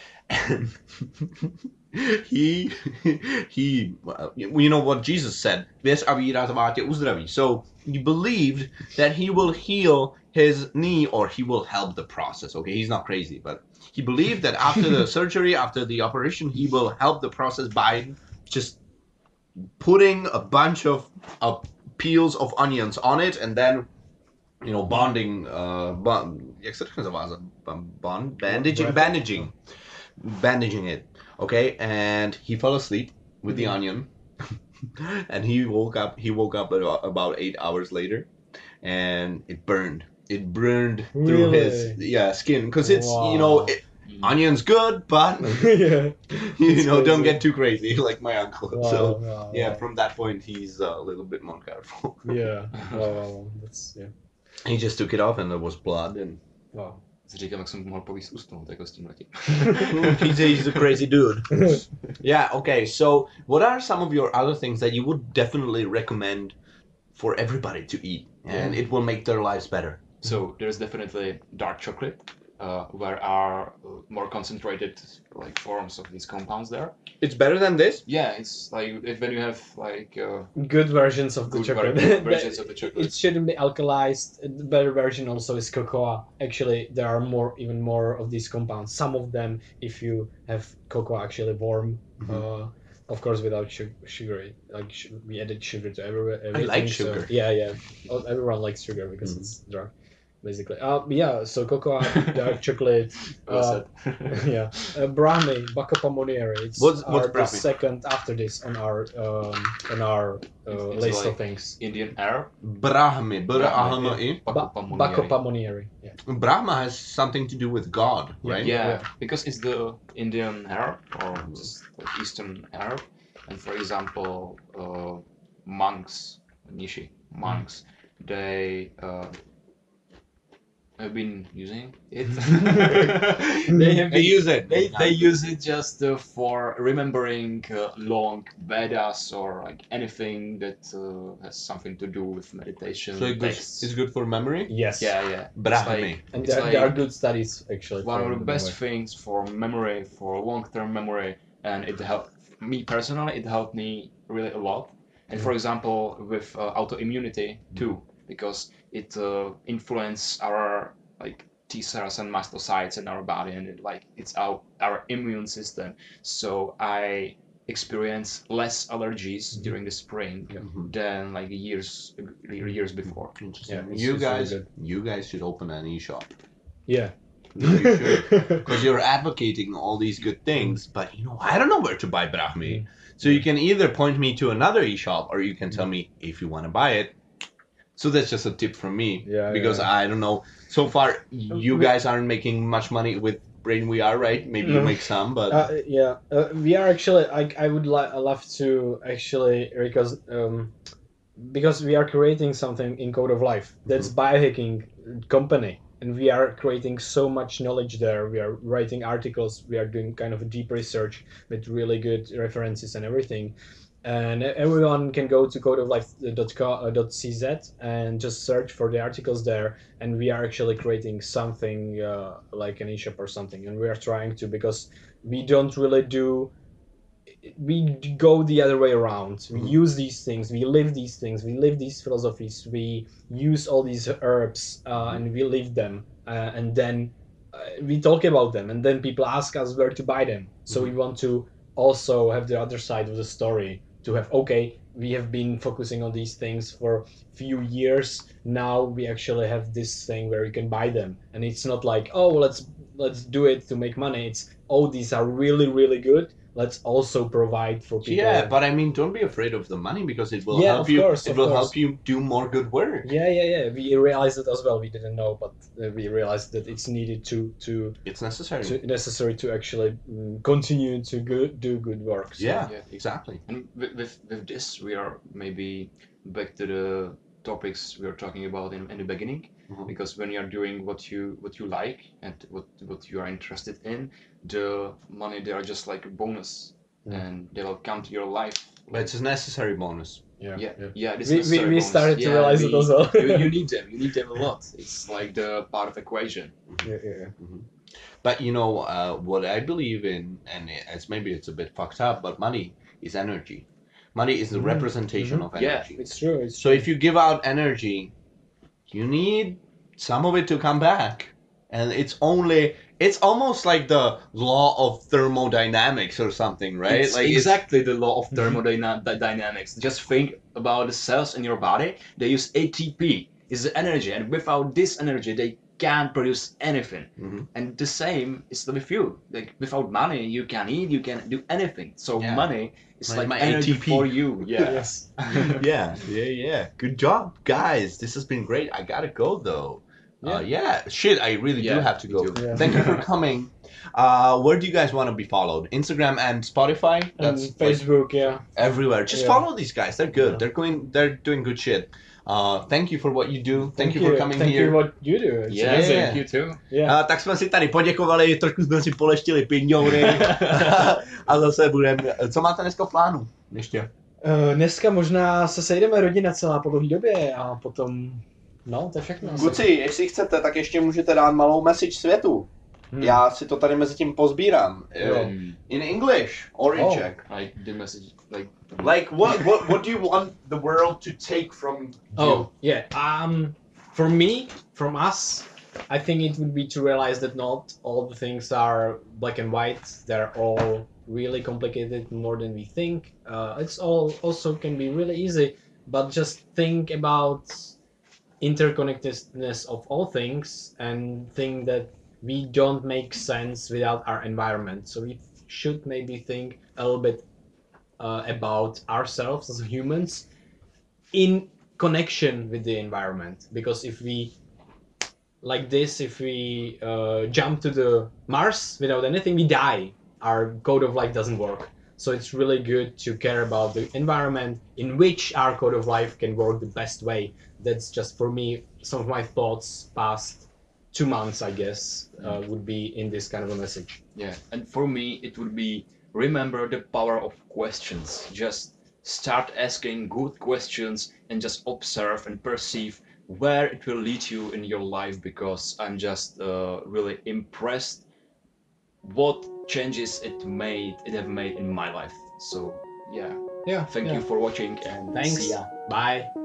he he uh, you know what Jesus said, věř a víra tvá tě uzdraví. So he believed that he will heal his knee, or he will help the process. Okay, he's not crazy, but he believed that after the surgery, after the operation, he will help the process by just putting a bunch of, of peels of onions on it, and then you know bonding uh bond, jak se to nazývá? Bond, bandaging, Wrap. bandaging, bandaging it. Okay, and he fell asleep with the Mhm. onion, and he woke up. He woke up about, about eight hours later, and it burned. It burned through his Really? yeah skin, because it's you know Wow. it, onion's good, but yeah. you It's know don't crazy. get too crazy like my uncle. Wow, So wow, yeah, wow. from that point he's uh, a little bit more careful. Yeah. Wow, wow, wow. That's yeah. He just took it off, and there was blood, and Wow. Si říkám, jak jsem mohl povíst usnout jako s tím letím. he's, a, he's a crazy dude. Yeah. Okay. So, what are some of your other things that you would definitely recommend for everybody to eat, and it will make their lives better? So there's definitely dark chocolate, uh, where are uh, more concentrated like forms of these compounds there. It's better than this. Yeah, it's like if when you have like uh, Good versions of the good chocolate. ver- versions of the chocolate. It shouldn't be alkalized. The better version also is cocoa. Actually, there are more, even more of these compounds. Some of them, if you have cocoa actually warm, Mhm. uh, of course, without su- sugar. it- Like sh- we added sugar to everywhere. Everything, like so- sugar. yeah, yeah. Oh, everyone likes sugar because Mhm. it's drug. basically. Uh, yeah, so cocoa, dark chocolate, Well uh, said. yeah, uh, Brahmi, Bacapa Monieri. It's What's- our, what's the Brahmi? second after this on our um, on our uh, It's list like of things. Indian Arab. Brahmi, B-R-A-H-M-I. Ba- Bacapa Monieri. Bacapa Monieri. Yeah. Brahma has something to do with God, Yeah. right? Yeah, Yeah. because it's the Indian Arab or just like Eastern Arab, and for example, uh, monks, Nishi monks, they uh, have been using it. they have They been, use it. they, they use it just uh, for remembering uh, long Vedas or like anything that uh, has something to do with meditation So it goes, texts. it's good for memory? Yes. Yeah, yeah. It's Brahmi. like- And it's there, like- there are good studies actually. one of for the best memory. things for memory, for long-term memory, and it helped me personally. It helped me really a lot. And for example, with uh, autoimmunity too, because it uh, influences our like T cells and mastocytes in our body, and it, like it's our our immune system. So I experience less allergies during the spring Mhm. than like years years before. Interesting. Yeah, it's- you it's really guys, good. you guys should open an e-shop. Yeah. No, you should. Because you're advocating all these good things, but you know, I don't know where to buy Brahmi. Mm. So you can either point me to another e-shop, or you can tell me if you want to buy it. So that's just a tip from me. Yeah, Because yeah. I don't know. So far, you guys aren't making much money with Brain We Are, right? Maybe you No. make some, but Uh, yeah, uh, we are actually. I I would li- I love to actually because um, because we are creating something in Code of Life that's biohacking company, and we are creating so much knowledge there. We are writing articles. We are doing kind of a deep research with really good references and everything. And everyone can go to codeoflife dot c z and just search for the articles there. And we are actually creating something uh, like an e-shop or something. And we are trying to, because we don't really do, we go the other way around. We Mhm. use these things, we live these things, we live these philosophies, we use all these herbs uh, and we live them. Uh, and then uh, we talk about them, and then people ask us where to buy them. So we want to also have the other side of the story, to have, okay, we have been focusing on these things for few years. Now we actually have this thing where you can buy them, and it's not like, oh, let's let's do it to make money. It's, oh, these are really really good. Let's also provide for people. yeah. But I mean, don't be afraid of the money, because it will Yeah, help of you. course, it of will course. help you do more good work. yeah, yeah, yeah. We realized it as well. We didn't know, but uh, we realized that it's needed to to, It's necessary. to necessary to actually mm, continue to go, do good work. So, yeah, Yeah. exactly. And with, with, with this, we are maybe back to the topics we were talking about in, in the beginning. Mhm. Because when you are doing what you what you like and what what you are interested in, the money they are just like a bonus, Mm. and they will come to your life. But it's a necessary bonus. yeah, Yeah, yeah. yeah. This We, we, necessary we bonus. started to Yeah, realize we- it as well. you, you need them. You need them a lot. It's like the part of equation. yeah, yeah, yeah. But you know uh, what I believe in, and it's maybe it's a bit fucked up, but money is energy. Money is the Mhm, representation mhm. of Yeah, energy. It's true. It's So if you give out energy, you need some of it to come back. And it's only, it's almost like the law of thermodynamics or something, right? It's like exactly the law of thermodynamics. Just think about the cells in your body. They use A T P. It's the energy, and without this energy, they can't produce anything. Mhm. And the same is with you. Like without money, you can eat, you can do anything. So Yeah. money is Like like, my energy A T P. for you. Yeah. Yes. yeah, yeah, yeah. Good job, guys. This has been great. I gotta go though. Yeah, uh, yeah. Shit, I really do Yeah, have to me go. too. Yeah. Thank you for coming. Uh, where do you guys want to be followed? Instagram and Spotify. And That's like, Facebook, yeah. everywhere. Just Yeah. follow these guys. They're good. Yeah. They're going. They're doing good shit. Uh, thank you for what you do. Thank, Thank you for coming Thank here. you what you do. It's Yeah, amazing. Yeah. thank you too. Yeah. Uh, tak jsme si tady poděkovali, trošku jsme si poleštili pinňoury a zase budeme. Co máte dneska v plánu? Ještě. Uh, dneska možná se sejdeme rodina celá po dlouhé době a potom, no, to je všechno. asi. Kluci, jestli chcete, tak ještě můžete dát malou message světu. Hmm. Já si to tady mezi tím pozbírám. Jo. Um, In English or in Oh. Czech. like the message, like Like what, what what do you want the world to take from you? Oh, yeah. Um, for me, from us, I think it would be to realize that not all the things are black and white. They're all really complicated, more than we think. Uh, it's all also can be really easy, but just think about interconnectedness of all things and think that we don't make sense without our environment. So we should maybe think a little bit uh, about ourselves as humans in connection with the environment. Because if we, like this, if we uh, jump to the Mars without anything, we die. Our code of life doesn't work. So it's really good to care about the environment in which our code of life can work the best way. That's just for me some of my thoughts past two months, I guess, uh, would be in this kind of a message. Yeah, and for me it would be remember the power of questions. Just start asking good questions and just observe and perceive where it will lead you in your life, because I'm just uh, really impressed what changes it made it have made in my life. So yeah, Yeah. thank yeah. you for watching and Thanks. see ya. Bye.